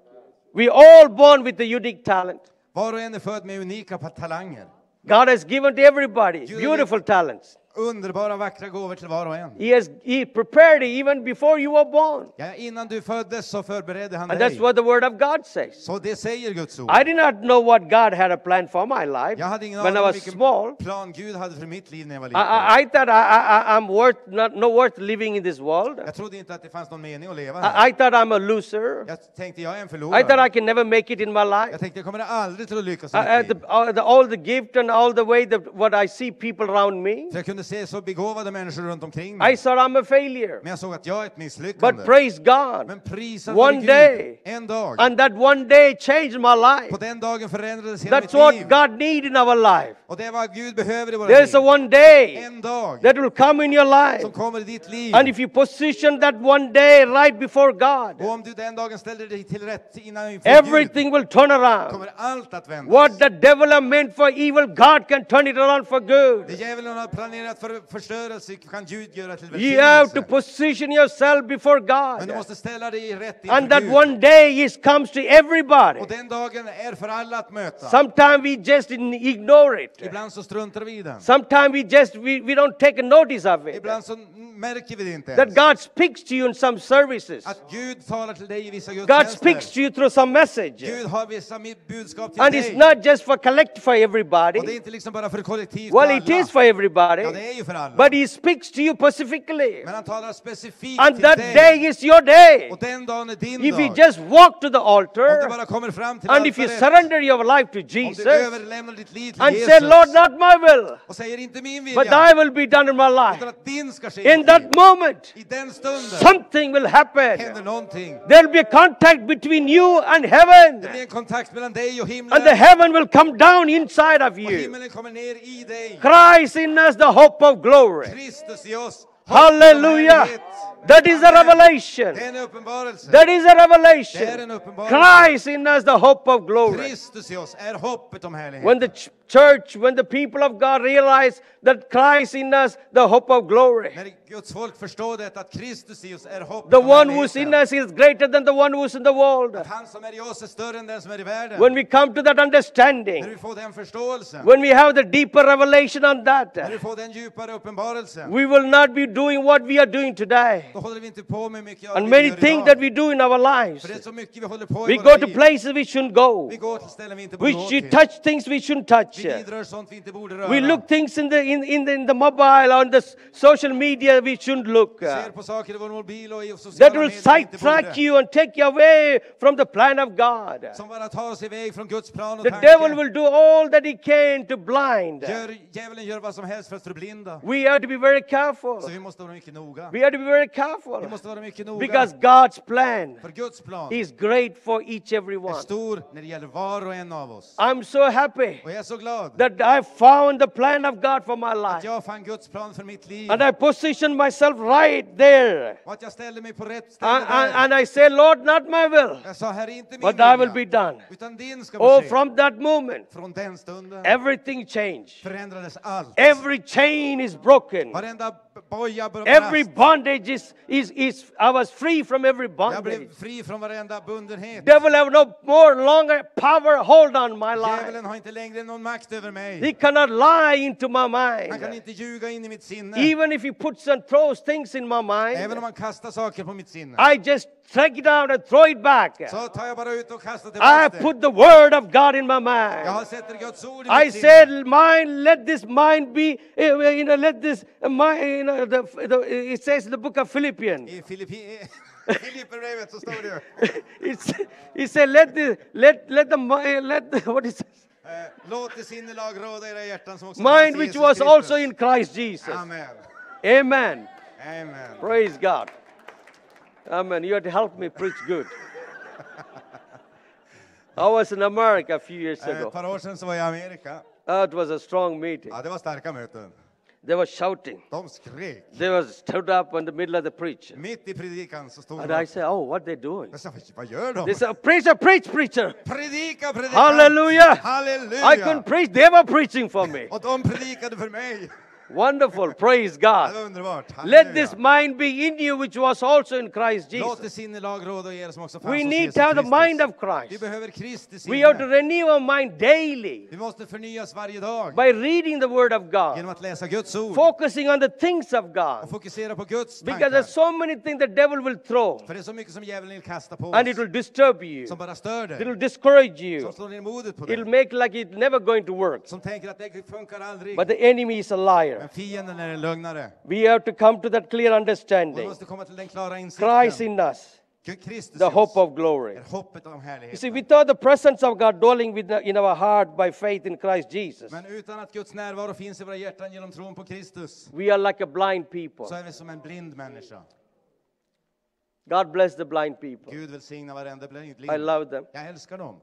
We all born with a unique talent. Var och en är född med unika talanger. God has given to everybody beautiful talents. Underbara, vackra gåvor till var och en. He has He prepared it even before you were born. Ja, innan du föddes så förberedde han And dig. that's what the Word of God says. Så det säger Guds ord. I did not know what God had a plan for my life Jag hade ingen when I aning om was vilken small. plan Gud hade för mitt liv när jag var I, liten. I, I thought I, I, I'm worth not, no worth living in this world. Jag trodde inte att det fanns någon mening att leva här. I, I thought I'm a loser. Jag tänkte jag är en I thought I förlorare. can never make it in my life. Jag tänkte jag kommer aldrig till att lyckas i I, mitt I, liv. the, all, the, all the gift and all the way that what I see people around me, För jag kunde se så begåvade människor runt omkring I mig. thought I'm a failure. Men jag såg att jag är ett misslyckande. But praise God, Men prisad one vare Gud. day, En dag. and that one day changed my life. På den dagen förändrades hela That's mitt what liv. God needs in our life. Och det är vad Gud behöver i våra There's a liv. one day En dag that will come in your life. som kommer i ditt liv. And if you position that one day right before Och God, om du den dagen ställer dig till rätt innan inför everything will turn Gud, around. kommer allt att vändas. What the devil has meant for evil, God can turn it around for Det good. djävulen har planerat för förstörelse kan Gud göra till You have to välsignelse. position yourself before Men du God. måste ställa dig rätt And inför that Gud. one day is comes to everybody. Och den dagen är för alla att möta. Sometimes we just ignore it. Ibland så struntar vi i den. Sometimes we just we, we don't take a notice of it. Ibland så märker vi det inte That ens. God speaks to you in some services. Att Gud talar till dig i vissa God speaks gudstjänster. to you through some message. Gud har vissa budskap till And dig. it's not just for collect for Och det är everybody. inte liksom bara för kollektivt Well, för it alla. is for everybody. Ja, det är ju för alla. But He speaks to you specifically. Men han talar specifikt And till that dig. day is your day. Och den dagen är din If you dag. just walk to the Om du altar bara kommer fram till and if you altaret. surrender your life to Om du Jesus överlämnar ditt liv till and Jesus. say, Lord, not my will, Och säger inte min but vilja. thy will be done in my life. Utan att din ska ske i In mitt that liv. moment, I den stunden something will happen. händer någonting. There'll be a contact between you and Det heaven. blir en kontakt mellan dig och himlen. And the heaven will come down inside of Och you. himlen kommer ner i dig. Christ in us, the hope of glory. Kristus i oss. Hallelujah. That is a revelation. Det är en uppenbarelse. That is a Det är revelation. en uppenbarelse. Christ in us, the hope of glory. Kristus i oss är hoppet om When härligheten. the ch- church, when the people of God realize that Christ in us, the hope of glory. När Guds folk förstår det, att Kristus i oss är hoppet The om one who's in härligheten. us is greater than the one who's in the world. Att han som är i oss är större än den som är i världen. When we come to that När understanding, vi får den förståelsen. when we have the deeper revelation on that, När vi får den djupare uppenbarelsen. we will not be doing what we are doing today. Då håller vi inte på med mycket av And det many vi gör things idag. that we do in our lives. För det är så mycket vi håller på We i go våra to liv. places we shouldn't go. Vi går till ställen vi inte borde We gå should till. touch things we shouldn't touch. Vi vidrör sånt vi inte borde röra. We look things in the in, in the in the mobile on the s- social media we shouldn't look. Vi uh, ser på saker i vår mobil och i sociala That will medier vi inte sidetrack borde. you and take you away from the plan of God. Som bara tar oss iväg från Guds plan och The tanke. devil will do all that he can to blind. Gör, djävulen gör vad som helst för att förblinda. We have to be very careful. Så vi måste vara mycket noga. We have to be very Vi careful måste vara mycket noga. because God's plan För Guds plan is great for each every är one. stor när det gäller var och en av oss. I'm so happy Och jag är så glad that I found the plan of God for my att life. jag fann Guds plan för mitt liv. And I positioned myself right there. Och att jag ställde mig på rätt ställe And, and, där. and I say, Lord, not my will, Jag sa, här är inte min but thy will be vilja, done. utan din ska Oh, ske. from that moment, Från den stunden everything changed. förändrades allt. Every chain is broken. Varenda boja brast. Every bondage is, is, is, I was free from every Jag bondage. blev fri från varenda bundenhet. Devil have no more longer power hold on my life. Djävulen har inte längre någon makt över mig. He cannot lie into my Han kan mind. inte ljuga in i mitt sinne. Even if he puts a, person throws things in my Även mind, om man kastar saker på mitt sinne, I just take it out and throw it back. så tar jag bara ut och kastar I tillbaka det. put the word of God in my Jag mind. har sett Guds ord i I mitt sinne. said, mind, let this mind be, uh, you know, let this uh, mind, you know, the, the, it says in the book of Philippians. I Filippi- Filipperbrevet så står det ju. It's, he said, let the, let, let the, mi- let the, what is it? Eh, Låt det sinnelag råda i era hjärtan som också Mind fanns i which Jesus was Kristus. also in Christ Jesus. Amen. Amen. Amen. Praise God. Amen. You had to help me preach good. I was in America a few years Eh, Ett ago. par år sedan så var jag i Amerika. Uh, it was a strong meeting. Ja, det var starka möten. They were shouting. De skrek. They were stood up in the middle of the preach. Mitt i predikan så stod And de. I said, oh, what they doing? Jag sa, vad gör de? They said, preacher, preach, preacher. Predika, predika. Hallelujah. Halleluja. I couldn't preach. They were preaching for me. Och de predikade för mig. Wonderful. Praise Det God. var underbart. Let Halleluja. this mind be in you, which was also in Christ Låt det Jesus. sinnelag råda i er som också fanns We hos need Jesus to have the Kristus. mind of Vi Christ. behöver Kristi We have to sinne. renew our mind daily Vi måste förnyas varje dag by reading the Word of God, genom att läsa Guds ord focusing on the things of och God. fokusera på Guds Because tankar. there's so many things the devil will throw, För det är så mycket som djävulen vill kasta på and it oss will disturb you. som bara stör It dig, will discourage som you. slår ner modet på It'll dig, make like it's never going to work. som tänker att det funkar aldrig. But the enemy is a liar. Men fienden är en lögnare. We have to come to that clear Och vi understanding. måste komma till den klara Christ insikten. in us, Kristus the i hope oss of glory. är hoppet om You see, härligheten. without the presence of God dwelling with in our heart by faith in Christ Jesus, Men utan att Guds närvaro finns i våra hjärtan genom tron på Kristus we are like a blind people. så är vi som en blind människa. God bless the blind people. Gud välsigna varenda blind. I love them. Jag älskar dem.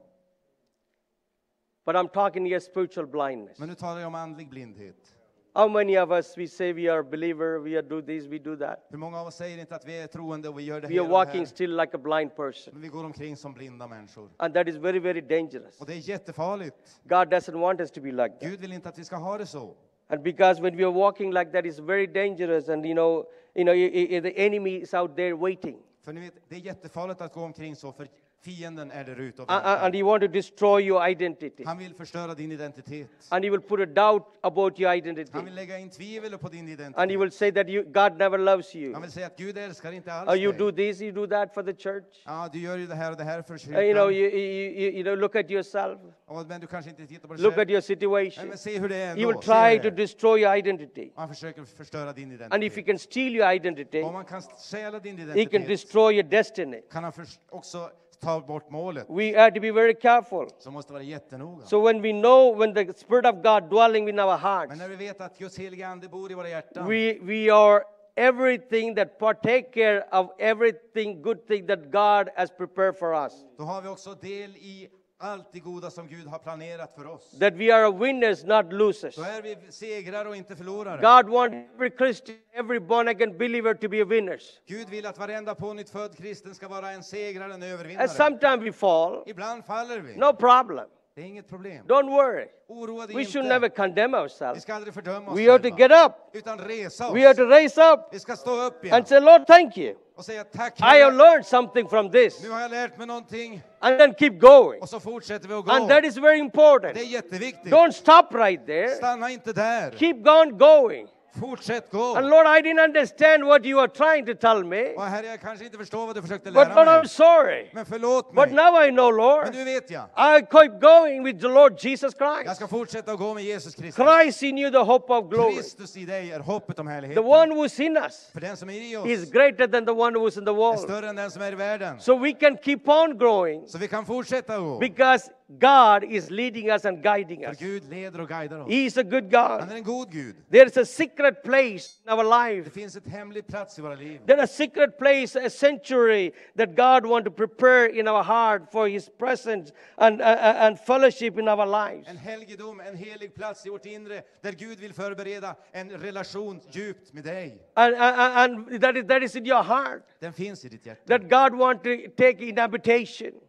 But I'm talking here spiritual blindness. Men nu talar jag om andlig blindhet. How many of us, we say we are believer, we are do this, we do that. Hur många av oss säger inte att vi är troende och vi gör det We här are och det walking här? still like a blind person. Men vi går omkring som blinda människor. And that is very, very dangerous. Och det är jättefarligt. God doesn't want us to be like that. Gud vill inte att vi ska ha det så. And because when we are walking like that, it's very dangerous. And you know, you know, i- i- the enemy is out there waiting. För ni vet, det är jättefarligt att gå omkring så, för fienden är där ute och A- a- And väntar. he want to destroy your identity. Han vill förstöra din identitet. And he will put a doubt about your identity. Han vill lägga in tvivel på din And he identitet. will say that you, God never loves you. Han vill säga att Gud älskar inte alls Or you dig. do this, you do that for the church. Ja, du gör ju det här och det här för Uh, you know, kyrkan. you, you, you, you know, look at yourself. Ja, men du kanske inte tittar på dig Look at själv. your Nej, situation. men se hur det är He ändå. will Se try hur to det är. destroy your identity. Han försöker förstöra din And if he identitet. can steal your identity, Om man kan stjäla din he can identitet destroy your destiny. kan han förs- också ta bort målet. We have to be very careful. Så måste vara jättenoga. So when we know when the Spirit of God dwelling in our hearts, Men när vi vet att Guds heliga ande bor i våra hjärtan, we, we are everything that partake care of everything good thing that God has prepared for us. då har vi också del i allt det goda som Gud har planerat för oss. That we are winners, not losers. Då är vi segrare och inte förlorare. God wants every Christian, every born again believer to be a winners. Gud vill att varenda pånytt född kristen ska vara en segrare, en And övervinnare. sometimes we fall, Ibland faller vi. no problem. Det är inget problem. Don't worry. Oroa dig We inte. should never condemn Vi ourselves. ska aldrig fördöma oss We have to själva, get up. utan resa oss. We have to raise up Vi ska stå upp igen and say, Lord, thank you. och säga tack I have Herre. learned something from this. Nu har jag lärt mig någonting. And then keep going. Och så fortsätter vi att gå. And that is very important. Det är jätteviktigt. Don't stop right there. Stanna inte där. Keep on going. Fortsätt gå. And Lord, I didn't understand what you are trying to tell me. Och Herre, jag kanske inte förstår vad du försökte But lära Lord, I'm mig. sorry. Men förlåt But mig. now I know, Men Lord. nu vet jag. I keep going with the Lord Jesus Jag Christ. ska fortsätta att gå med Jesus Kristus. Christ in you, the hope of glory. Kristus i dig är hoppet om The härligheten. one who's in us För den som är i is oss greater than the one who's in the är world. större än den som är i världen. So we can keep on growing Så vi kan fortsätta att gå. because God is leading us and guiding För us. Gud leder och guidar oss. He is a good Han God. är en god Gud. There is a secret place in our Det life. finns ett hemlig plats i våra liv. There is a secret place, a sanctuary that God wants to prepare in our heart for His presence and, uh, uh, and fellowship in our lives. En helgedom, en helig plats i vårt inre där Gud vill förbereda en relation djupt med dig. And, uh, and that, is, that is in your heart. Den finns i ditt hjärta. That God wants to take in habitation.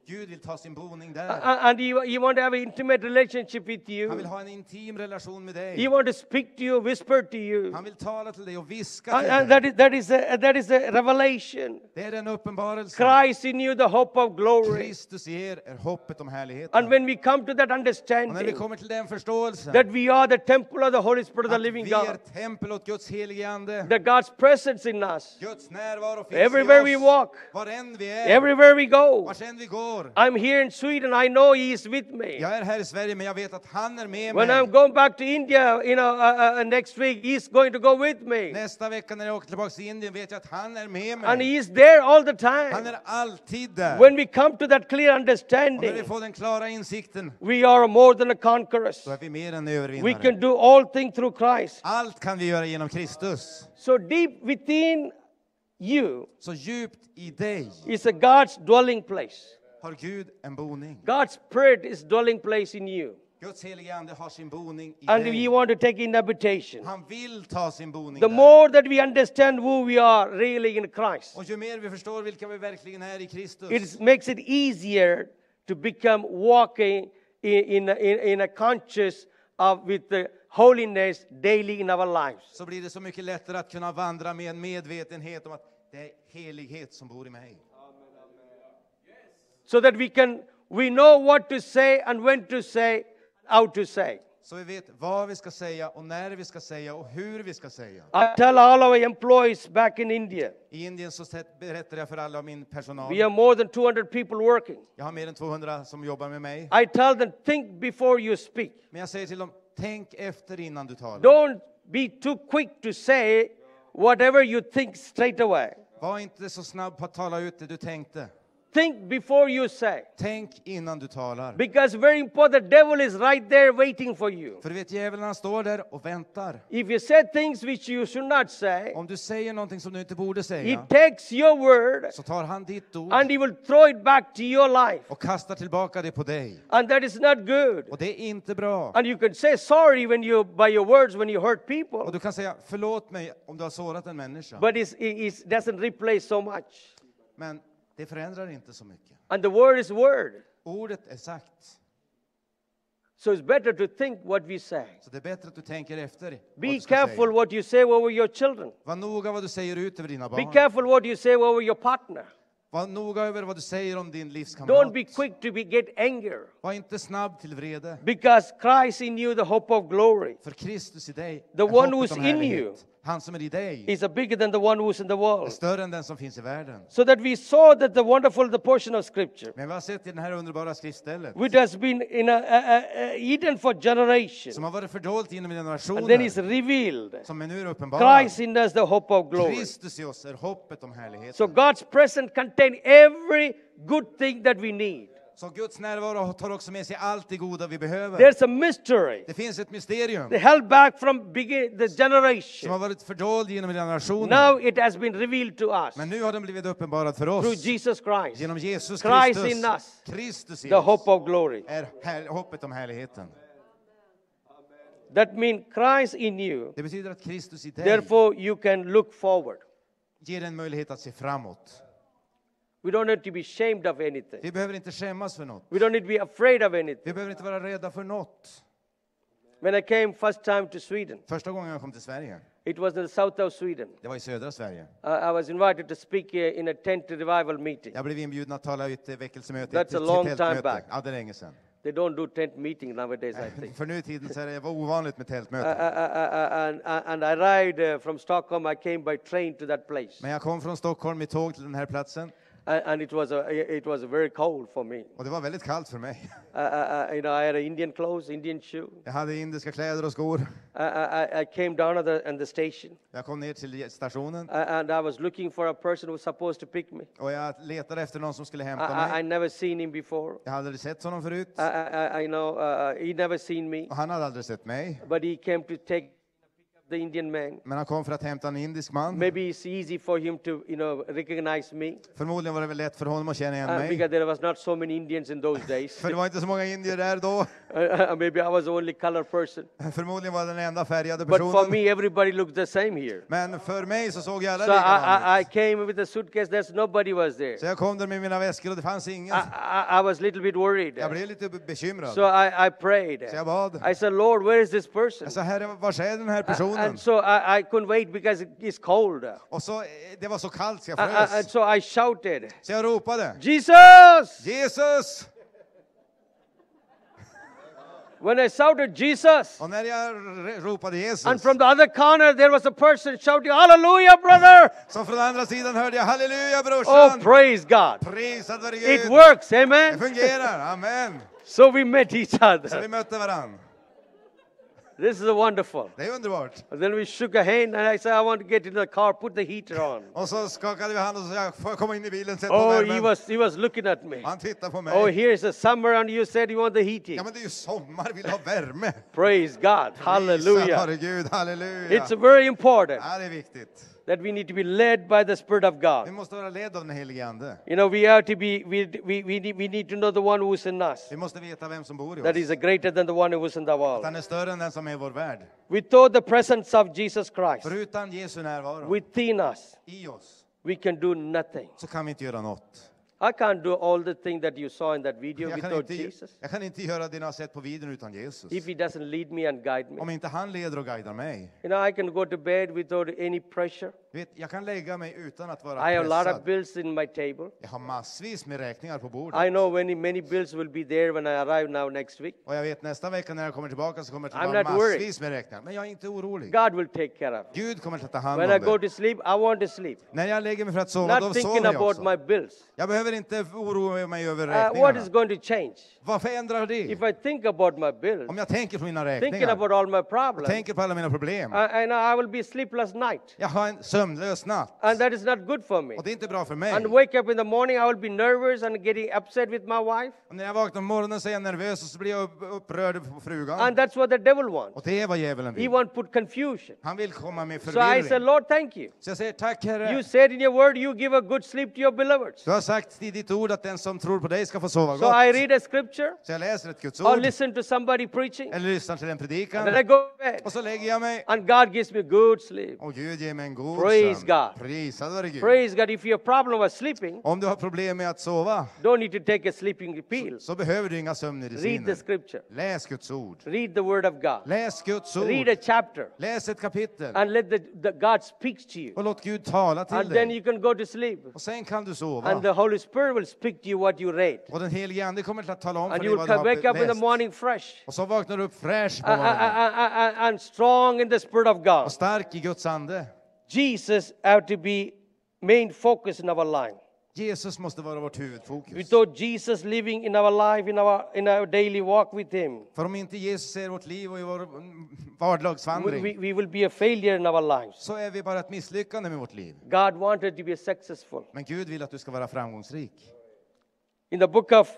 Gud vill ta sin boning där. A- And he, he want to have an intimate relationship with Han you. vill ha en intim relation med He dig. want to speak to you, whisper to you. Han vill tala till dig och viska And, till and that dig. is that is a that is a revelation. Det är en uppenbarelse. Christ in you, the hope of glory. Kristus i er är hoppet om And härligheten. when we come to that Och när vi understanding kommer till den förståelsen, that we are the temple of the Holy Spirit of the att living vi är God, tempel åt Guds helige ande. that God's presence in us, Guds närvaro finns everywhere we i oss. walk, Var än vi är, everywhere we go. vart än vi går. I'm here in Sweden. I know He is with me. Jag är här i Sverige, men jag vet att han är med When mig. I'm going back to India, you know, uh, uh, next week, He's going to go with me, Nästa vecka när jag åker tillbaka till Indien vet jag att han är med and mig. He is there all the Han time. är alltid där. When we come to that clear Och när vi understanding, får den klara insikten, we are more than a conquerors. då är vi mer än We övervinnare. can do all things through Christ. Allt kan vi göra genom Kristus. So deep within you Så djupt i dig is a God's dwelling place. har Gud en boning. God's Spirit is dwelling place in you. Guds helige ande har sin boning i And dig. we want to take inhabitation. Han vill ta sin boning The där. more that we understand who we are really in Christ, Och ju mer vi förstår vilka vi verkligen är i Kristus, it makes it easier to become walking in, in, in, in a conscious of with the holiness daily in our lives. så blir det så mycket lättare att kunna vandra med en medvetenhet om att det är helighet som bor i mig. So that we can we know what to say and when to say, how to say. Så vi vet vad vi ska säga och när vi ska säga och hur vi ska säga. I tell all our employees back in India, I Indien så sett- berättar jag för alla om min personal. we have more than two hundred people working. Jag har mer än tvåhundra som jobbar med mig. I tell them, think before you speak. Men jag säger till dem, tänk efter innan du talar. Don't be too quick to say whatever you think straight away. Var inte så snabb på att tala ut det du tänkte. Think before you say. Tänk innan du talar. Because very important, the devil is right there waiting for you. För du vet, djävulen han står där och väntar. If you say things which you should not say, Om du säger någonting som du inte borde he säga, takes your word så tar han ditt ord and he will throw it back to your life. och kastar tillbaka det på dig. And that is not good. Och det är inte bra. And you can say sorry when you by your words when you hurt Och people, du kan säga, förlåt mig om du har sårat en människa. but it's, it doesn't replace so much. Men det förändrar inte så mycket. And the word is word. Ordet är sagt. So it's better to think what we say. Så det är bättre att du tänker efter vad Be du ska careful säga. what you say over your children. Var noga vad du säger ut över dina Be barn. careful what you say over your partner. Var noga över vad du säger om din livskamrat. Don't be quick to be, get anger. Var inte snabb till vrede. Because Christ in you, the hope of glory, För Kristus i dig The är one hoppet who's om in härlighet. you Han som är i dig is a bigger than the one who's in the är world. större än den som finns i världen. So that we saw that the wonderful the portion of scripture, Men vi har sett i den här underbara skriftstället which has been in a, a, a, a hidden for generations, som har varit fördolt genom and then is generationer, revealed. som är nu uppenbarat. Christ in us, the hope of glory. Kristus i oss är hoppet om härlighet. So God's presence contains every good thing that we need. Så Guds närvaro tar också med sig allt det goda vi behöver. There's a mystery. Det finns ett mysterium They held back from begin, the som har generation. varit fördold genom generationer. Now it has been revealed to us Men nu har den blivit uppenbarad för through oss. Jesus Christ, Genom Jesus Christ Kristus. in us, Kristus i the hope oss of glory. är här, hoppet om härligheten. That means Christ in you. Det betyder att Kristus i dig Therefore, you can look forward. ger en möjlighet att se framåt. We don't need to be ashamed of anything. Vi behöver inte skämmas för något. We don't need to be afraid of anything. Vi behöver inte vara rädda för något. When I came first time to Sweden, Första gången jag kom till Sverige, it was in the south of Sweden. det var i södra Sverige. Uh, I was invited to speak uh, in a tent revival meeting. Jag blev inbjuden att tala i ett väckelsemöte. That's ett- a ett long time tältmöte. back. Ja, det är länge sedan. They don't do tent meeting nowadays, I think. För nu i tiden så är det var ovanligt med Uh, uh, tältmöten. uh, uh, and, uh, and I arrived uh, from Stockholm. I came by train to that place. Men jag kom från Stockholm i tåg till den här platsen. And, and it was a, it was very cold for me. Och det var väldigt kallt för mig. Uh, uh, uh, you know, I had a Indian clothes, Indian shoe. Jag hade indiska kläder och skor. Uh, I, I came down at the, at the station, Jag kom ner till stationen. uh, and I was looking for a person who was supposed to pick me. Och jag letade efter någon som skulle I, hämta I, I mig. never seen him before. Jag hade aldrig sett honom förut. I, I, I know uh, he never seen me, Och han hade aldrig sett mig. but he came to take the Indian man. Men han kom för att hämta en indisk man. Maybe it's easy for him to, you know, recognize me. Förmodligen var det väl lätt för honom att känna igen Uh, mig. because there was not so many Indians in those days. För det var inte så många indier där då. Uh, maybe I was the only color person. Förmodligen var jag den enda färgade But for personen. me, everybody looked the same here. Men för mig så såg jag alla So I, likadana I, I ut. came with a suitcase. There's nobody was there. Så jag kom där med mina väskor och det fanns ingen. I, I, I was a little bit worried. Jag blev lite bekymrad. So I, I prayed. Så jag bad. I said, Lord, where is this person? Jag sa, Herre, var är den här personen? And so I, I couldn't wait because it's cold. Uh, Och så, eh, det var så kallt så jag uh, and frös. so I shouted, Så jag ropade. Jesus! Jesus! When I shouted Jesus, Och när jag r- ropade Jesus. and from the other corner there was a person shouting, Hallelujah, brother! Så från andra sidan hörde jag halleluja Oh, brorsan. praise God. Prisad vare It Gud. works, Det amen? fungerar, amen. So we met each Så vi other. mötte varann. This is wonderful. Det är underbart. And then we shook a hand and I said, I want to get into the car, put the heater on. Och så skakade vi hand och så jag får jag komma in i bilen, sätt på Oh, he värmen. was, he was looking at me. Han tittar på Oh, mig. here's a summer and you said you want the heating. Ja men det är ju sommar, vill ha värme. Praise God. Prisad Hallelujah. vare Gud, halleluja. It's very important Ja, det är viktigt. that we need to be led by the Spirit of Vi God. måste vara led av den helige Ande. You know, we have to be, we, we, we, need, we need to know the one who's in us. Vi måste veta vem som bor i That oss. is greater than the one who was in the Att world. han är större än den som är i vår värld. Without the presence of Jesus Christ För utan Jesu närvaro within us, i oss we can do nothing. så kan vi inte göra något. I can't do all the things that you saw in that video Jag kan, without inte, Jesus. jag kan inte göra det ni har sett på videon utan Jesus. If he doesn't lead me and guide me. Om inte han leder och guidar mig. You know, I can go to bed without any pressure. Du vet, jag kan lägga mig utan att vara I have a lot of pressad. bills in my table. Jag har massvis med räkningar på bordet. I know many, many bills will be there when I arrive now next week. Och jag vet nästa vecka när jag kommer tillbaka så kommer det I'm att vara not worried. massvis med räkningar. Men jag är inte orolig. God will take care of it. Gud kommer att ta hand When om I go det. to sleep, I want to sleep. När jag lägger mig för att sova, då Not thinking sover jag about också. my bills. Jag behöver inte oroa mig över Uh, what is räkningarna. going to change? Vad förändrar det? If I think about my bills, Om jag tänker på mina thinking räkningar, about all my och problems, tänker på alla mina problem. uh, and I will be sleepless night. Jag har en sömnlös natt. And that is not good for me. Och det är inte bra för mig. And wake up in the morning, I will be nervous and getting upset with my wife. Och när jag vaknar på morgonen så är jag nervös och så blir jag upp- upprörd på frugan. And that's what the devil wants. Och det är vad djävulen He vill. wants to put confusion. Han vill komma med So I said, förvirring. Lord, thank you. Så jag säger tack Herre. You said in your word, you give a good sleep to your beloveds. Du har sagt i ditt ord att den som tror på dig ska få sova So I gott. read a scripture Så jag läser ett Guds or ord. listen to somebody preaching. Eller lyssnar till en predikan. And then I go to bed. Och så lägger jag mig. And God gives me good sleep. Och Gud ger mig en god Praise sömn. God. Prisad vare Gud. Praise God. If your problem was sleeping, Om du har problem med att sova don't need to take a sleeping pill. så behöver du inga Read the sömnmediciner. scripture. Läs Guds ord. Read the word of God. Läs Guds Read a ord. chapter. Läs ett kapitel. And let the, the God speak to you. Och låt Gud tala till And then dig. you can go to sleep. Och sen kan du sova. And the Holy Spirit will speak to you what you read. Och den helige Ande kommer till att tala om för And dig you will vad du come wake har up in the läst. morning fresh. Och så vaknar du upp fräsch på Uh, uh, uh, morgonen. uh, uh, and strong in the Spirit of God. Och stark i Guds ande. Jesus have to be main focus in our life. Jesus måste vara vårt huvudfokus. Without Jesus living in our life, in our in our daily walk with Him, För om inte Jesus är vårt liv och i vår mm, we, vardagsvandring we, we will be a failure in our lives. så är vi bara ett misslyckande med vårt liv. God wanted to be successful. Men Gud vill att du ska vara framgångsrik. In the book of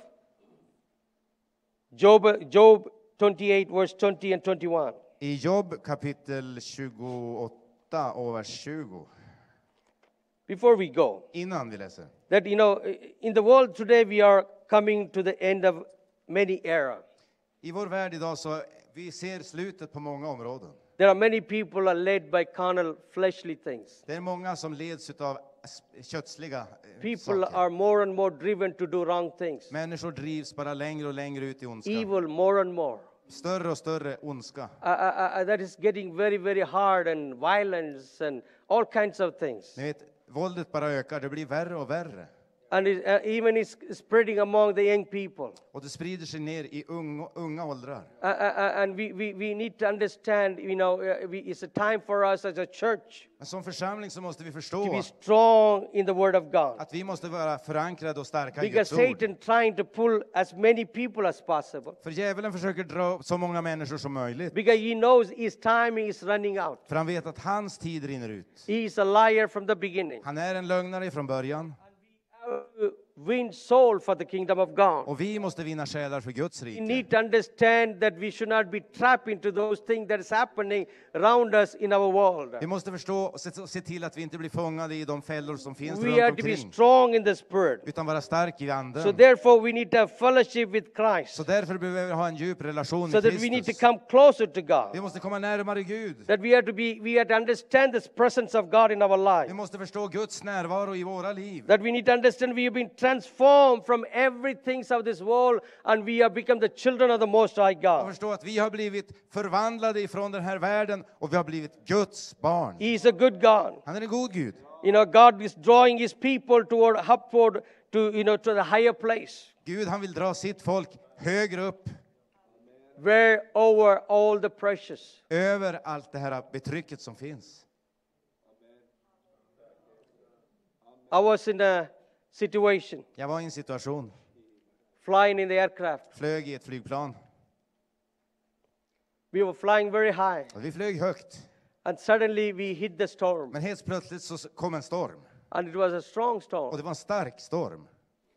Job, Job twenty-eight, verse twenty and twenty-one. I Jobb kapitel tjugoåtta och vers tjugo. Before we go, Innan vi läser. that you know, in the world today we are coming to the end of many era. I vår värld idag så vi ser slutet på många områden. There are many people are led by carnal, fleshly things. Det är många som leds av kötsliga eh, People saker. are more and more driven to do wrong things. Människor drivs bara längre och längre ut i ondska. Evil more and more. Större och större ondska. Uh, uh, uh, that is getting very, very hard, and violence and all kinds of things. Ni vet, våldet bara ökar, det blir värre och värre. And it, uh, even it's spreading among the young people. Och det sprider sig ner i unga, unga åldrar. Uh, uh, uh, and we, we, we need to understand, you know, uh, we, it's a time for us as a church Men som församling så måste vi to förstå be strong in the Word of God. att vi måste vara förankrade och starka i Because Guds ord. Satan trying to pull as many people as possible. För djävulen försöker dra upp så många människor som möjligt. Because he knows his timing is running out. För han vet att hans tid rinner ut. He is a liar from the beginning. Han är en lögnare från början. Uh, win soul for the kingdom of God. Och vi måste vinna själar för Guds We rike. need to understand that we should not be trapped into those things that is happening around us in our world. Vi måste förstå och se, se till att vi inte blir fångade i de fällor som finns We runt have to be omkring. strong in the spirit. Utan vara stark i anden. So therefore we need to have fellowship with Christ. Så därför behöver vi ha en djup relation So med that we need to Kristus. come closer to Vi God. måste komma närmare Gud. That we have to be, we have to understand this presence of God in our life. Vi måste förstå Guds närvaro i våra liv. That we need to understand we have been transformed from everything of this world and we have become the children of the Most High Och God. förstå att vi har blivit förvandlade ifrån den här världen och vi har blivit Guds barn. He is a good God. Han är en god Gud. You know, God is drawing His people toward upward to, you know, to the higher place. Gud, han vill dra sitt folk högre upp, Where over all the precious. över allt det här betrycket som finns. I was in a situation, Jag var i en situation, flying in the aircraft. flög i ett flygplan. We were flying very high. Och vi flög högt, And suddenly we hit the storm. men helt plötsligt så kom en storm. And it was a strong Och storm. det var en stark storm.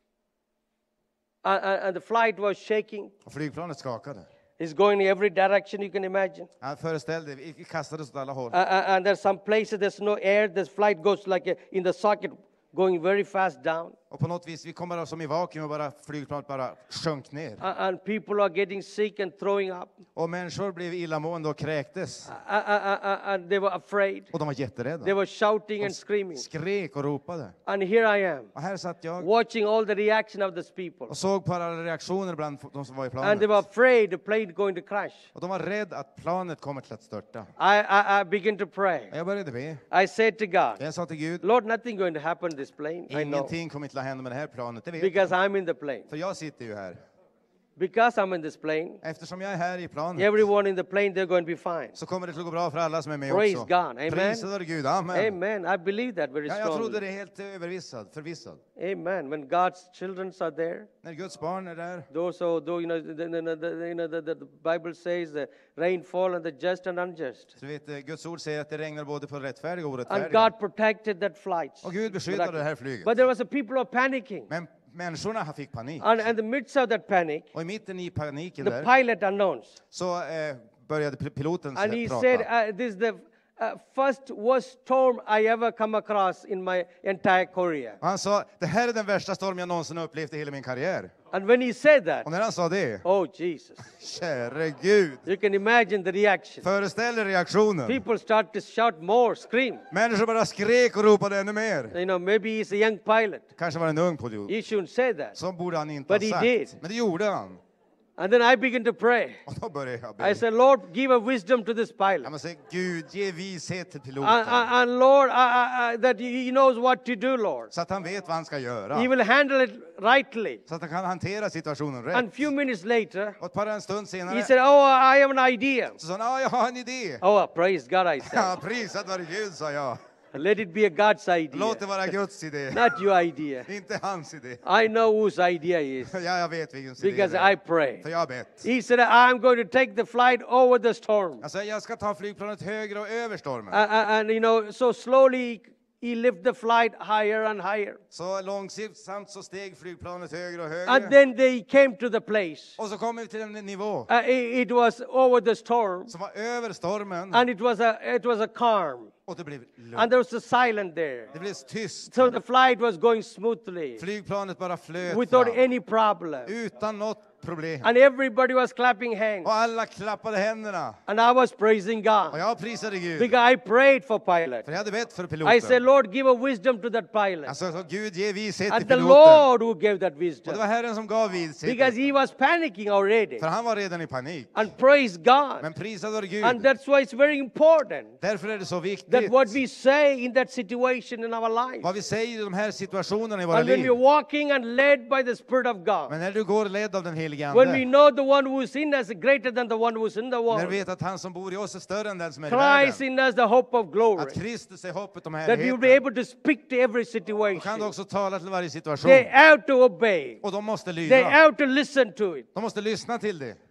And, and, and the flight was shaking. Och flygplanet skakade. It's going in every direction you can imagine. Jag föreställde, vi kastades åt alla håll. Uh, uh, and there's some places there's no air. This flight goes like a, in the socket, going very fast down. Och på något vis, vi kom bara som i vakuum och bara flygplanet bara sjönk ner. Uh, and people are getting sick and throwing up. Och människor blev illamående och kräktes. Uh, uh, uh, uh, and they were afraid. Och de var They jätterädda. were shouting De and screaming. skrek och ropade. And here I am, Och här satt jag watching all the reaction of these people. och såg på alla reaktioner bland de som var i And they were planet. afraid the plane going to crash. Och de var rädda att planet kommer till att störta. I, I, I began to pray. Och jag började be. I said to God, Jag sa till Gud, Lord, nothing going to happen to this plane. I know. ingenting kommer till att hända med det här planet, det vet jag. Because I'm in the plane. För jag sitter ju här. Because I'm in this plane, Eftersom jag är här i planet everyone in the plane, they're going to be fine. så kommer det att gå bra för alla som är med Praise också. God. Amen. Prisad vare Gud. Amen. Amen. I believe that very Ja, jag trodde strongly. det helt övervissad, förvissad. Amen. When God's children are there, När Guds barn är där, those who, though, you know, the, the, the, the, you know, the, the Bible says the rain fall on the just and unjust. så vet eh, Guds ord säger att det regnar både på rättfärdiga och And orättfärdiga. God protected that flight. Och Gud beskyddade det här flyget. But there was a people who are panicking. Men människorna fick panik. And in the midst of that panic, Och i mitten i paniken the där pilot announced. så eh, började p- piloten And he prata. said, uh, this is the uh, first worst storm I ever come across in my entire career. Och han sa, det här är den värsta storm jag någonsin upplevt i hela min karriär. And when he said that, Och när han sa det, oh Jesus, käre Gud, you can imagine the reaction. föreställ er reaktionen. People start to shout more, scream. Människor bara skrek och ropade ännu mer. You know, maybe he's a young pilot. Kanske var det en ung pilot. He shouldn't say that. Så borde han inte But ha he sagt. did. Men det gjorde han. And then I began to pray. Och då började jag I be. said, Lord, give a wisdom to this Jag pilot. måste säga, Gud, ge vishet till And, piloten. and, and Lord, I, I, I, that he knows what to do, Lord. Så att han vet vad han ska göra. He will handle it rightly. Så att han kan hantera situationen And rätt. few minutes later, Och ett par en stund he senare said, oh, I have an idea. så sa han, ja, jag har en idé. Oh, praise God, I said. Ja, prisat vare Gud, sa jag. Let it be a God's Låt det idea, vara Guds idé. not your idea. Inte hans idé. I know whose idea is Ja, jag vet vilken idé because det är. I pray. För jag har bett. He said, I'm going to take the flight over the storm. Jag sa, jag ska ta flygplanet högre och över stormen. Uh, uh, and, you know, so slowly he lifted the flight higher and higher. Så långsamt så steg flygplanet högre och And högre. then they came to the place. Och så kom vi till en nivå Uh, it, it was over the storm, som var över stormen. and it was a it was a calm, Och det blev and lugnt. there was a silence there. Det blev tyst. So the flight was going smoothly Flygplanet bara flöt without fram. any problem, Utan något problem. and everybody was clapping hands, Och alla klappade händerna. and I was praising Och God jag prisade Gud. because I prayed for pilot. För jag hade bett för I said, piloten. Lord, give a wisdom to that pilot, Alltså, så Gud ge vishet till and the piloten. Lord who gave that Och det wisdom var Herren som gav vishet. because he was panicking already. För han var redan i panik. And praise God, Men prisad vare Gud. and that's why it's very important Därför är det så that viktigt what we say in that situation in our life. vad vi säger i de här situationerna i våra And when we're liv. walking and led by the Spirit of God, Men när du går ledd av den helige when we Ande. know the one who is in us is greater than the one who is in the När world, vi vet att han som bor i oss är större än den som är i Christ världen. in us, the hope of glory, Att Kristus är hoppet om that we will be härligheten. able to speak to every Då kan du situation. också tala till varje situation. They have to obey. Och de måste They lyda. have to listen to it. De måste lyssna till det.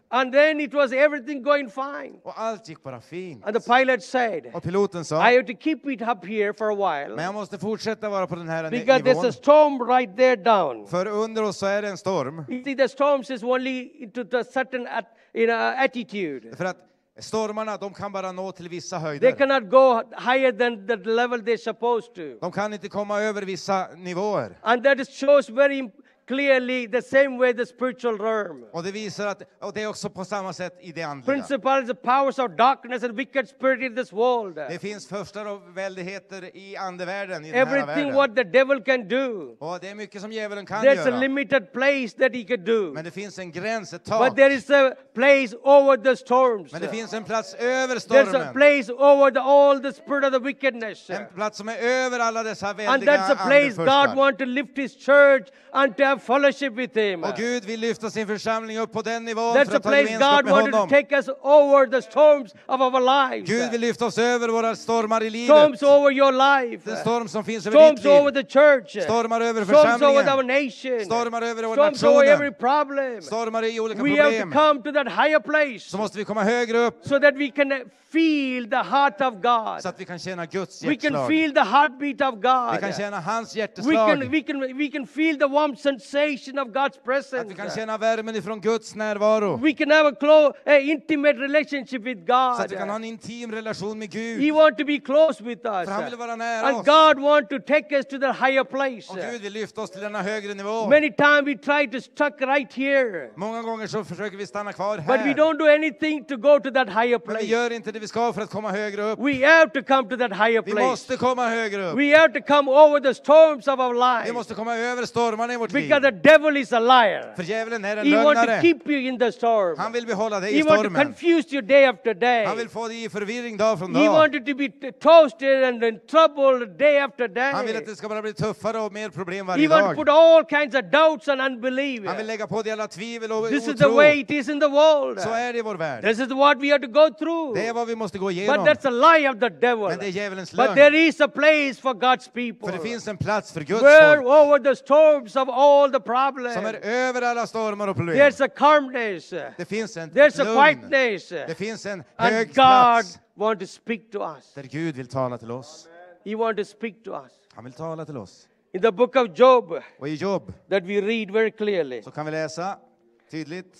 And then it was everything going fine. Och allt gick bara fint. And the pilot said, Och piloten I sa, have to keep it up here for a men while jag måste fortsätta vara på den här because there's a nivån. storm right there down. För under oss så är det en storm. You see, the storms is only into the certain at, you know, attitude. För att stormarna, de kan bara nå till vissa They höjder. cannot go higher than the level they're supposed to. De kan inte komma över vissa nivåer. And that is shows very clearly the same way the spiritual realm. Och det visar att, och det är också på samma sätt i det andliga. Principalities, powers of darkness and wicked spirit in this world. Det finns förstar och väldigheter i andevärlden, i den här Everything världen. what the devil can do. Och det är mycket som djävulen kan There's a göra. limited place that he could do. Men det finns en gräns, ett tak. But there is a place over the storms. Men det finns en plats över There's a stormen. place over the, all the spirit of the wickedness. En plats som är över alla dessa And väldiga that's a place God andefurstar. wants to lift his church and to have fellowship with him. Och Gud vill lyfta sin församling upp på den nivån That's för a att ha place gemenskap God med wanted to honom. take us over the storms of our lives. Gud vill lyfta oss över våra stormar i livet. Storms over your life. Den storm som finns över Storms ditt over liv. the church. Stormar över Storms over our församlingen. nation. Stormar över vår Storms over every nationen. problem. Stormar i olika We have to problem. come to that higher place Så måste vi komma högre upp so that we can feel the heart of God. så att vi kan känna Guds We can hjärtslag. feel the heartbeat of Vi God. kan känna hans We hjärteslag. can, we can, we can feel the warm sensation of God's Att presence. vi kan känna värmen ifrån Guds närvaro. We can have a close, a intimate relationship with Så att God. vi kan ha en intim relation med Gud. He wants to be close with us. För han vill vara nära And oss. God wants to take us to the higher place. Och Gud vill lyfta oss till denna högre nivå. Many times we try to stuck right here. Många gånger så försöker vi stanna kvar But we här. don't do anything to go to that higher Men vi place. gör inte det vi ska för att komma högre upp. We have to come to that higher Vi place. måste komma högre upp. We have to come over the storms of our Vi life. måste komma över stormarna i vårt liv. Because the devil is a liar. För djävulen är en He wants to lögnare. keep you in the storm. Han vill behålla dig He i wants to stormen. confuse you day after day. Han vill få dig i förvirring dag från He dag. wants you to be t- toasted and in trouble day after Han vill att day. det ska bara bli tuffare och mer problem He varje wants to dag. put all kinds of doubts and unbelief. Han vill lägga på dig alla tvivel och This is the way otro. it is in the world. Så är det i vår värld. This is what we have to go through. Det är vad vi måste gå But igenom. that's a lie of the devil. Men det är djävulens But lögn. there is a place for God's people. För det finns en plats för Guds Where folk over the storms of all the problems, som är över alla stormar och problem. there's a calmness. Det finns en There's a lugn. quietness. Det finns en And hög God plats wants to speak to us. där Gud vill tala till oss. He wants to speak to us. Han vill tala till oss. In the book of Job Och i Jobb that we read very clearly. så kan vi läsa tydligt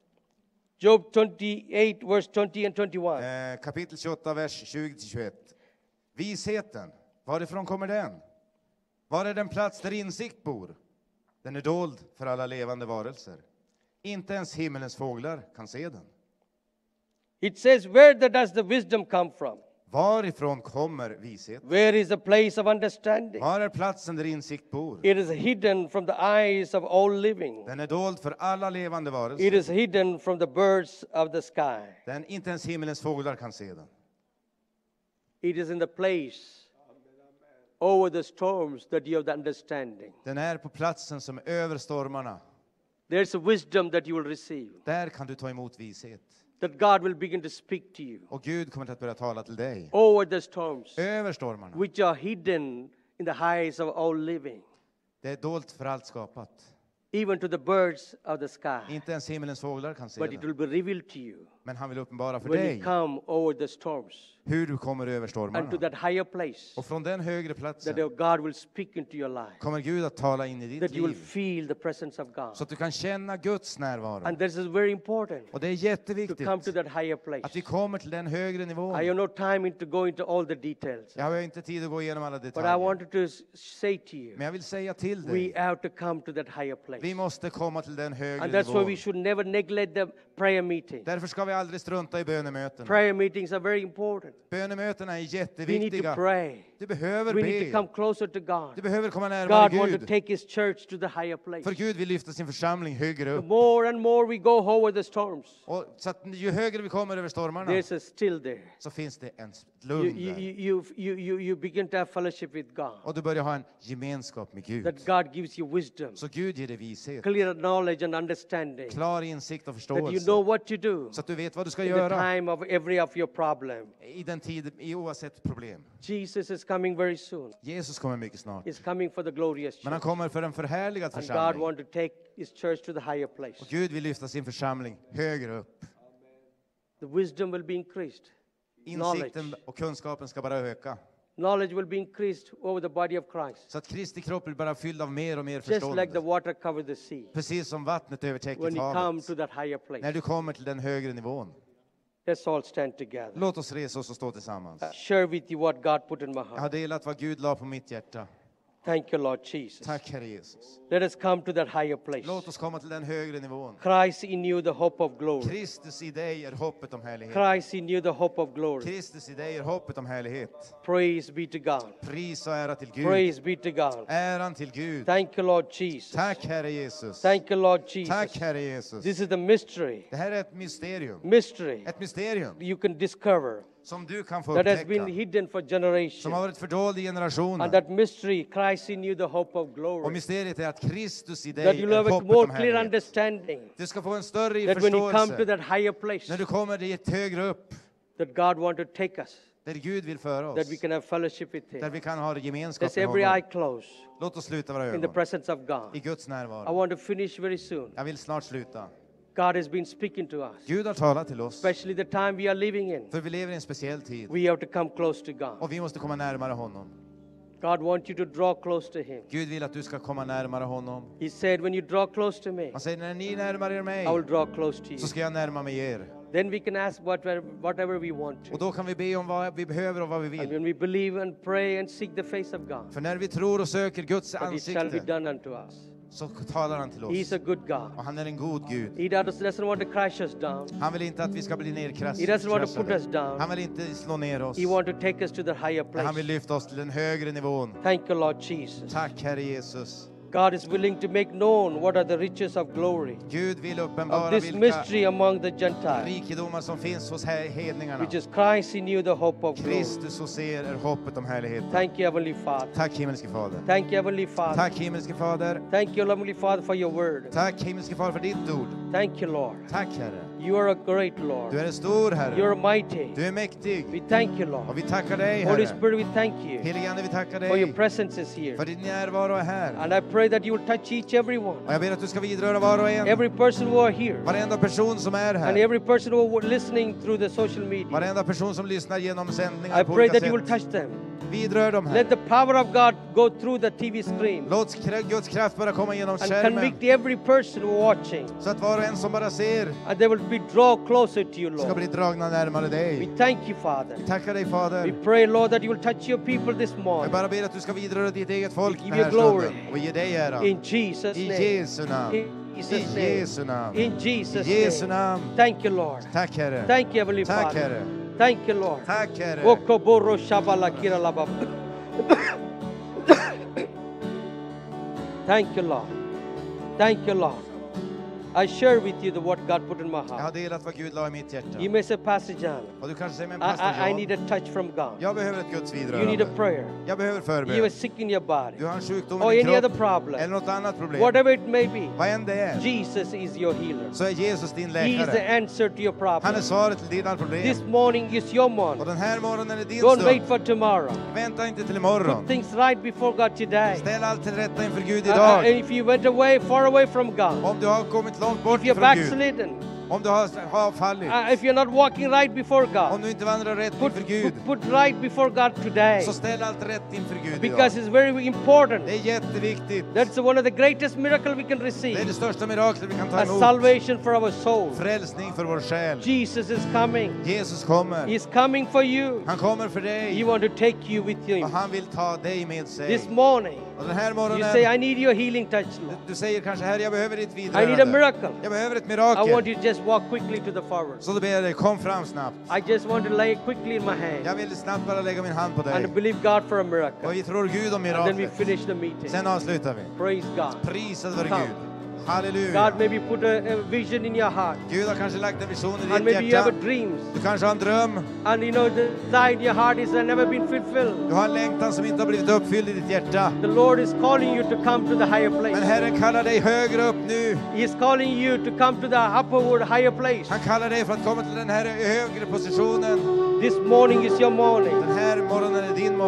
Job twenty-eight verse twenty and twenty-one. eh, kapitel tjugoåtta, vers tjugo till tjugoett. Visheten, varifrån kommer den? Var är den plats där insikt bor? Den är dold för alla levande varelser. Inte ens himmelens fåglar kan se den. It says, where the, does the wisdom come from? Varifrån kommer vishet? Where is the place of understanding? Var är platsen där insikt bor? It is hidden from the eyes of all living. Den är dold för alla levande It varelser. is hidden from the birds of the sky. Den, inte ens himmelens fåglar kan se den. It is in the place over the storms that you have the understanding. Den är på platsen som är över stormarna. There's a wisdom that you will receive. Där kan du ta emot vishet. That God will begin to speak to you. Och Gud kommer att börja tala till dig. Over the storms Över stormarna. which are hidden in the eyes of all living. Det är dolt för allt skapat. Even to the birds of the sky. Inte ens himmelens fåglar kan se But it den. will be revealed to you Men han vill uppenbara för when you dig come over the storms hur du kommer över and to stormarna. that higher place Och från den högre that platsen God will speak into your life. kommer Gud att tala in i ditt That you will liv. feel the presence of God. Så att du kan känna Guds närvaro. And this is very important Och det är to jätteviktigt come to that higher place. att vi kommer till den högre I nivån. have no time to go into all the details. Jag har inte tid att gå igenom alla But I detaljer. wanted to s- say to you, Men jag vill säga till we dig. have to come to that higher place. Vi måste komma till den högre And that's why we nivån. should never neglect the prayer meeting. Därför ska vi aldrig strunta i bönemöten. Prayer meetings are very important. Bönemötena är We need to jätteviktiga. pray. Du behöver We need to be. come closer to God. Du behöver komma närmare God wants to Gud. take His church to the higher place. För Gud vill lyfta sin församling högre The upp. more and more we go over the storms, Och så att ju högre vi kommer över stormarna there's a still there. så finns det en You, lugn you, där. you, you, you, you begin to have fellowship with God. Och du börjar ha en gemenskap med Gud. That God gives you wisdom, Så Gud ger dig vishet, clear knowledge and understanding. klar insikt och That you förståelse. know what to do Så att du vet vad du ska in the göra time of every of your problem. i den tid, i oavsett problem. Jesus is coming very soon. Jesus kommer mycket snart. He's coming for the glorious Men han church. kommer för en förhärligad And God församling. wants to take his church to the higher place. Och Gud vill lyfta sin församling högre upp. The wisdom will be increased. Insikten Knowledge. och kunskapen ska bara öka. Knowledge will be increased over the body of Christ. Så att Kristi kropp blir bara fylld av mer och mer Just like the förstånd. water covered the sea. Precis som vattnet övertäcker When you come havet. to that higher När place. du kommer till den högre nivån. Let's all stand together. Låt oss resa oss och stå tillsammans. Share with you what God put in my Jag har heart. delat vad Gud la på mitt hjärta. Thank you, Lord Jesus. Tack Herre Jesus. Let us come to that higher place. Låt oss komma till den högre nivån. Christ in you, the hope of glory. Kristus i dig är hoppet om härlighet. Christ in you, the hope of glory. Kristus i dig är hoppet om härlighet. Praise be to God. Pris och ära till Gud. Praise be to God. Äran till Gud. Thank you, Lord Jesus. Tack Herre Jesus. Thank you, Lord Jesus. Tack Herre Jesus. This is the mystery. Det här är ett mysterium. Mystery Ett mysterium you can discover som du kan få that has been upptäcka. hidden for Som generations. har varit fördold i And generationer. that mystery, Christ in you, the hope of Och glory. mysteriet är att Kristus i That dig you'll är have a hoppet more om clear härlighet. understanding. Du ska få en större That when you come to förståelse. that higher place, När du kommer dit högre upp. that God wants to take us, Där Gud vill föra that we oss. can have fellowship with Där Him. vi kan ha gemenskap Let's med every eye honom. close Låt oss sluta våra in the ögon. presence of I God. Guds I närvaro. want to finish very soon. Jag vill snart sluta. God has been speaking to us, Gud har talat till oss. especially the time we are living in. För vi lever i en speciell tid. We have to come close to God. Och vi måste komma närmare honom. God wants you to draw close to Him. Gud vill att du ska komma närmare honom. He said, when you draw close to me, Han säger, när ni närmar er mig I will draw close to you. så ska jag närma mig er. Then we can ask whatever, whatever we want Och to. då kan vi be om vad vi behöver och vad vi And vill. when we believe and pray and seek the face of God, För när vi tror och söker Guds that it shall be ansikte done unto us. så talar han till He is oss. a good God. Och han är en god Gud. He does- doesn't want to crash us down. Han vill inte att vi ska bli He doesn't want to put nedkraschade. us down. Han vill inte slå ner oss. He wants to take us to the higher Men han vill place. lyfta oss till den högre nivån. Thank you, Lord Jesus. Tack Herre Jesus. God is willing to make known what are the riches of glory Gud vill of uppenbara this vilka mystery among the Gentiles, rikedomar som finns hos he- hedningarna. which is Christ in you, the hope of glory. Kristus hos er är hoppet om härligheten. Thank you, Heavenly Father. Tack himmelske Fader. Thank you, Heavenly Father. Tack himmelske Fader. Thank you, Heavenly Father, for your word. Tack himmelske Fader för ditt ord. Thank you, Lord. Tack Herre. You are a great Lord. Du är en stor Herre. You're mighty. Du är mäktig. We thank you, Och Lord. vi tackar dig Holy Herre. Spirit, we thank you Helige Ande, vi tackar for your dig presence is here. för din närvaro är här. And I pray that you will touch each every one, Och jag ber att du ska vidröra var och en. every person who are here, Varenda person som är and här. every person who are listening through the social media. Varenda person som lyssnar genom I sändningar på pray olika that you will sätt. touch them. Vidrör dem här. Let the power of God go through the T V screen Låt kra- Guds kraft bara komma genom and skärmen. convict every person who watching, Så att var och en som bara ser and they will be draw closer to you, ska Lord. bli dragna närmare We dig. thank you, Father. Vi tackar dig We Fader. pray, Lord, that you will touch your people this Jag morning. bara ber att du ska vidröra ditt eget folk We den give här you glory. stunden. Och ge dig ära. In Jesus' I name. Jesu namn. In I Jesus' name. Jesu namn. In I Jesus' Jesu name. namn. Thank you, Lord. Tack Herre. Thank you, Heavenly Tack Father. Herre. Thank you, Lord. Tack Herre. Okoboro shabala kiralaba. Thank you, Lord. Thank you, Lord. I share with you the what God put in my Jag har heart. delat vad Gud la i mitt hjärta. You may say, Pastor John, Och du kanske säger, men I, pastor I, I need John, a touch from God. jag behöver ett Guds You need a vidrörande. prayer. Jag behöver You are förbön. sick in your body. Du har en sjukdom Or i din any other kropp. problem. Eller något annat problem. Whatever it may be, Vad än det är. Jesus is your healer. Så är Jesus din He is the läkare. answer to your Han är problem. svaret till dina problem. This morning is your Och morning. den här morgonen är din Don't wait stund. for tomorrow. Vänta inte till Put imorgon. things right before God today. Ställ allt till rätta inför Gud Uh, uh, idag. and if you went away, far away from God, Om du har kommit långt bort if you're från Gud. backslidden, Om du har, har fallit. uh, if you're not walking right before Om God, du inte vandrar rätt put, inför Gud. put, put right before God today. Så ställ allt rätt inför Gud Because idag. it's very important. Det är jätteviktigt. That's one of the greatest miracles we can Det är receive. det största miraklet vi kan ta A emot. salvation for our soul. Frälsning för vår själ. Jesus is coming. Jesus kommer. He's coming for you. Han kommer för He dig. want to take you with him. Och han vill ta dig med sig. This morning, Och den här you say, morgonen. I need your healing touch, Lord. Du säger kanske, Herre, jag behöver ditt I need a vidrörande. miracle. Jag behöver ett I want mirakel. you to just walk quickly to the forward. Så då ber jag dig, kom fram snabbt. I just want to lay it quickly in my hand Jag vill snabbt bara lägga min hand på dig. and believe God for a miracle. Och vi tror Gud om And then we miraklet. finish the meeting. Sen avslutar vi. Praise God. Prisad vare Come. Gud. Halleluja. God maybe put a, a vision in your heart. Gud har kanske lagt en vision i And ditt maybe you have hjärta. a dreams. Du kanske har en dröm. And you know, the desire in your heart is never been fulfilled. Du har en längtan som inte har blivit uppfylld i ditt hjärta. The Lord is calling you to come to the higher Men place. Herren kallar dig högre upp nu. He is calling you to come to the upward higher place. Han kallar dig för att komma till den här högre positionen. This morning is your morning. Den här morgonen är din morgon.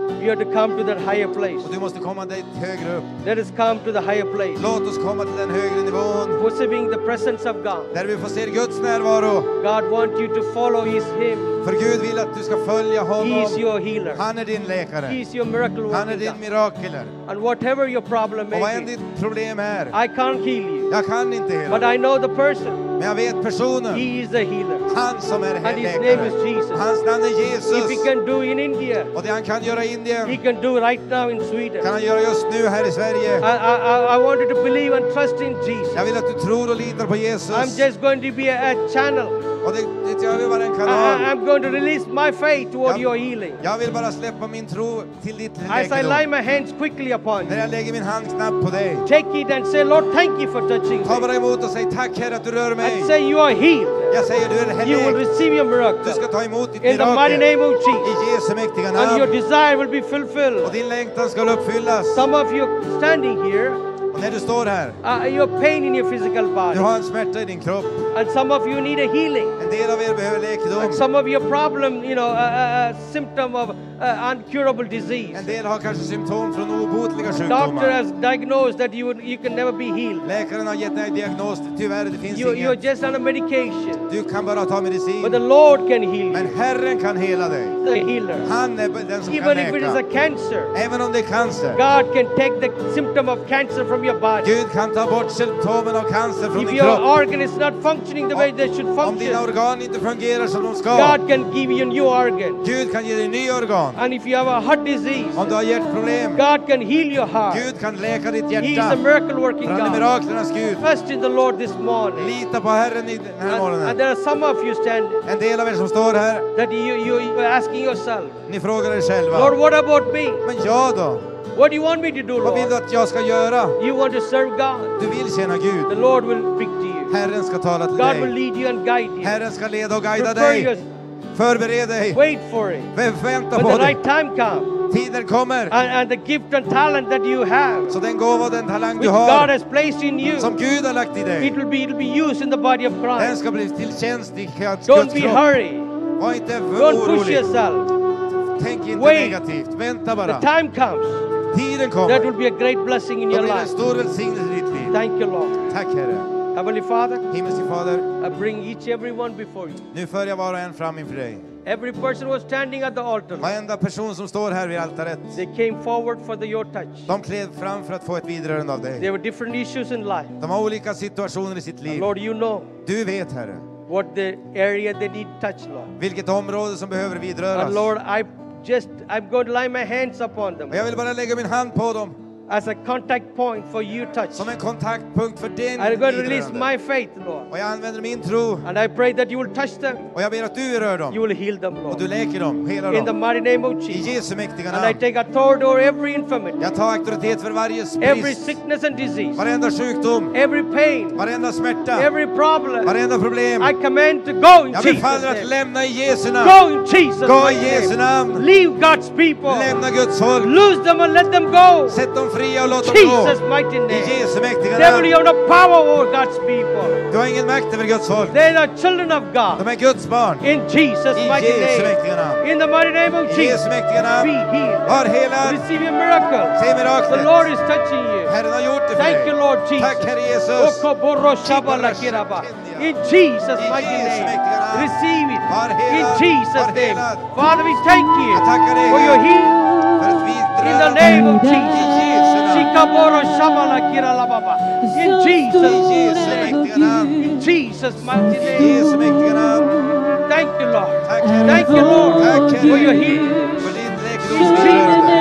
You have to come to that higher place. Och du måste komma dit högre upp. Let us come to the higher place. Låt oss komma till den högre nivån. Perceiving the presence of God. Där vi får se Guds närvaro. God wants you to follow his him. För Gud vill att du ska följa He honom. is your healer. Han är din läkare. He is your miracle Han är working din God. mirakeler. And whatever your problem Och vad may än be, ditt problem är. I can't heal you. Jag kan inte hela. But I know the person. Men jag vet personen. He is the healer. Han som är And his name läkare. is Jesus. Hans namn är If he Jesus. can do in India, Och det han kan göra i he Indien can do right now in Sweden. kan han göra just nu här i Sverige. I, I, I- I want you to believe and trust in Jesus. Jag vill att du tror och litar på Jesus. I'm just going to be a, a channel. Och det, det jag vill vara en I, kanal. I- I'm going to release my faith toward Ja. your healing. Jag vill bara släppa min tro till ditt As I lay läkedom. my hands quickly upon När you, jag lägger min hand knappt på dig. take it and say, Lord, thank you for touching Ta me. bara emot och säg tack Herre att du rör mig. And say you are healed. Jag säger du är You will helg. receive your Du miracle. ska ta emot ditt In the mighty mirakel. name of I Jesus. Jesu mäktiga And your namn. desire will be Och fulfilled. din längtan ska uppfyllas. Some of you standing here, Och när du står här. uh, you have pain in your physical Du body. har en smärta i din kropp. And some of you need a healing. En del av er behöver And läkedom. some of your problem, you know, a, a, a symptom of uh, incurable disease. En del har kanske symptom från obotliga Doctor sjukdomar. has diagnosed that you would, you can never be healed. Läkaren har gett dig en diagnos. Tyvärr, det finns You, you're inget. just on a medication. Du kan bara ta But the medicin. Lord can heal Men you. Herren kan hela dig. The healer. Han är den som kan Even if it is a läka. cancer, Även om det är cancer. God can take the symptom of cancer from your body. Gud kan ta bort symptomen av cancer från If din your kropp. organ is not functioning the way they should Om dina function, organ inte fungerar som de ska. God can give you a new organ. Gud kan ge dig ny organ. And if you have a heart disease, Om du har hjärtproblem. God can heal your heart. Gud kan läka ditt He is a hjärta. miracle working För han är God. miraklernas Gud. Trust in the Lord this morning. Lita på Herren i den här And, and morgonen. there are some of you stand En del av er som står här, that you, you, you are asking yourself, ni frågar er Lord, själva. what about me? Men jag då? What do you want me to do, Vad vill du Lord? att jag ska göra? You want to serve God. Du vill tjäna The Gud. Lord will speak to you. Herren ska tala till God will dig. lead you and guide you. Herren ska leda och guida Prepare dig. your, Förbered dig. wait for it. Vä- Vänta When på the dig. right time comes, Tiden kommer. and, and the gift and talent that you have, Så den gåva och den talang which du God har, has placed in you, som Gud har lagt i it dig, will be it will be used in the body of den Christ. ska bli till tjänst i Guds Don't be kropp. hurry. Var inte Don't push orolig. yourself. Tänk inte Wait. negativt. Vänta The bara. time comes. Tiden That kommer. will be a great blessing in Då your blir det en life. stor välsignelse i ditt liv. Thank you, Lord. Tack Herre. Heavenly Father, Himmelske Fader, I bring each every one before you. nu för jag var och en fram inför dig. Every person who was standing at the altar, Varenda person som står här vid altaret, they came forward for the, your touch. de klev fram för att få ett vidrörande av dig. There were different issues in life. De har olika situationer i sitt liv. Lord, you know Du vet Herre, what the area they need touch, Lord. vilket område som behöver vidröras. And Lord, I just, I'm going to lay my hands upon them Och jag vill bara lägga min hand på dem as a contact point for you touch. som en kontaktpunkt för din I'm going to release vidrörande. my faith, Lord. Och jag använder min tro And I pray that you will touch them. och jag ber att du rör dem You will heal them, och du Lord. läker dem, helar In the dem. mighty name of I Jesus. Jesu mäktiga And I namn. take authority over every infirmity, Jag tar auktoritet för varje every brist, sickness and disease, varenda sjukdom, every pain, varenda smärta, every problem. varenda problem. I command to go in Jag Jesus' befaller att name. lämna i Jesu namn. Go in Jesus' Gå i mighty Jesu name. namn. Leave God's people. Lämna Guds folk. Lose them and let them go. Sätt dem fria och låt dem Jesus' gå. mighty I name. Jesu mäktiga Devil, you namn. have no power over God's people. Du har ingen makt över Guds folk. They are children of De God. är Guds barn. In Jesus' I mighty Jesu name. mäktiga namn. In the mighty name of I Jesus. Jesu mäktiga Be namn. healed. Var helad. Receive your miracle. Se The miraklet. Lord is touching you. Herren har gjort det för Thank you, dig. Lord Jesus. Tack Herre Jesus. Okoboro shabala kiraba. In Jesus' I mighty Jesu name. mäktiga namn. Receive it. Var In helad. Jesus' Var name. helad. Father, we thank you Jag tackar dig for your Gud, healing. för ett In the vidrörande. name of I Jesus. Jesu namn. Shikaboro shabala kirala baba. In Jesus' I Jesu name. mäktiga namn. In Jesus' mighty I name. Jesu mäktiga namn. Thank you, Lord. Tack Herre. Thank you, Lord, Tack for your Herre. healing. För ditt Var läkedomsvidrörande.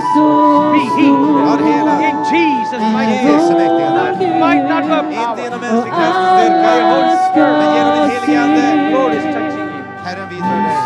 healed. helad. In Jesus' mighty I Jesu name. mäktiga namn. Might not have Inte power. genom mänsklig kraft och styrka, By Holy Spirit. men genom den helige Ande. Lord is touching you. Herren vidrör dig.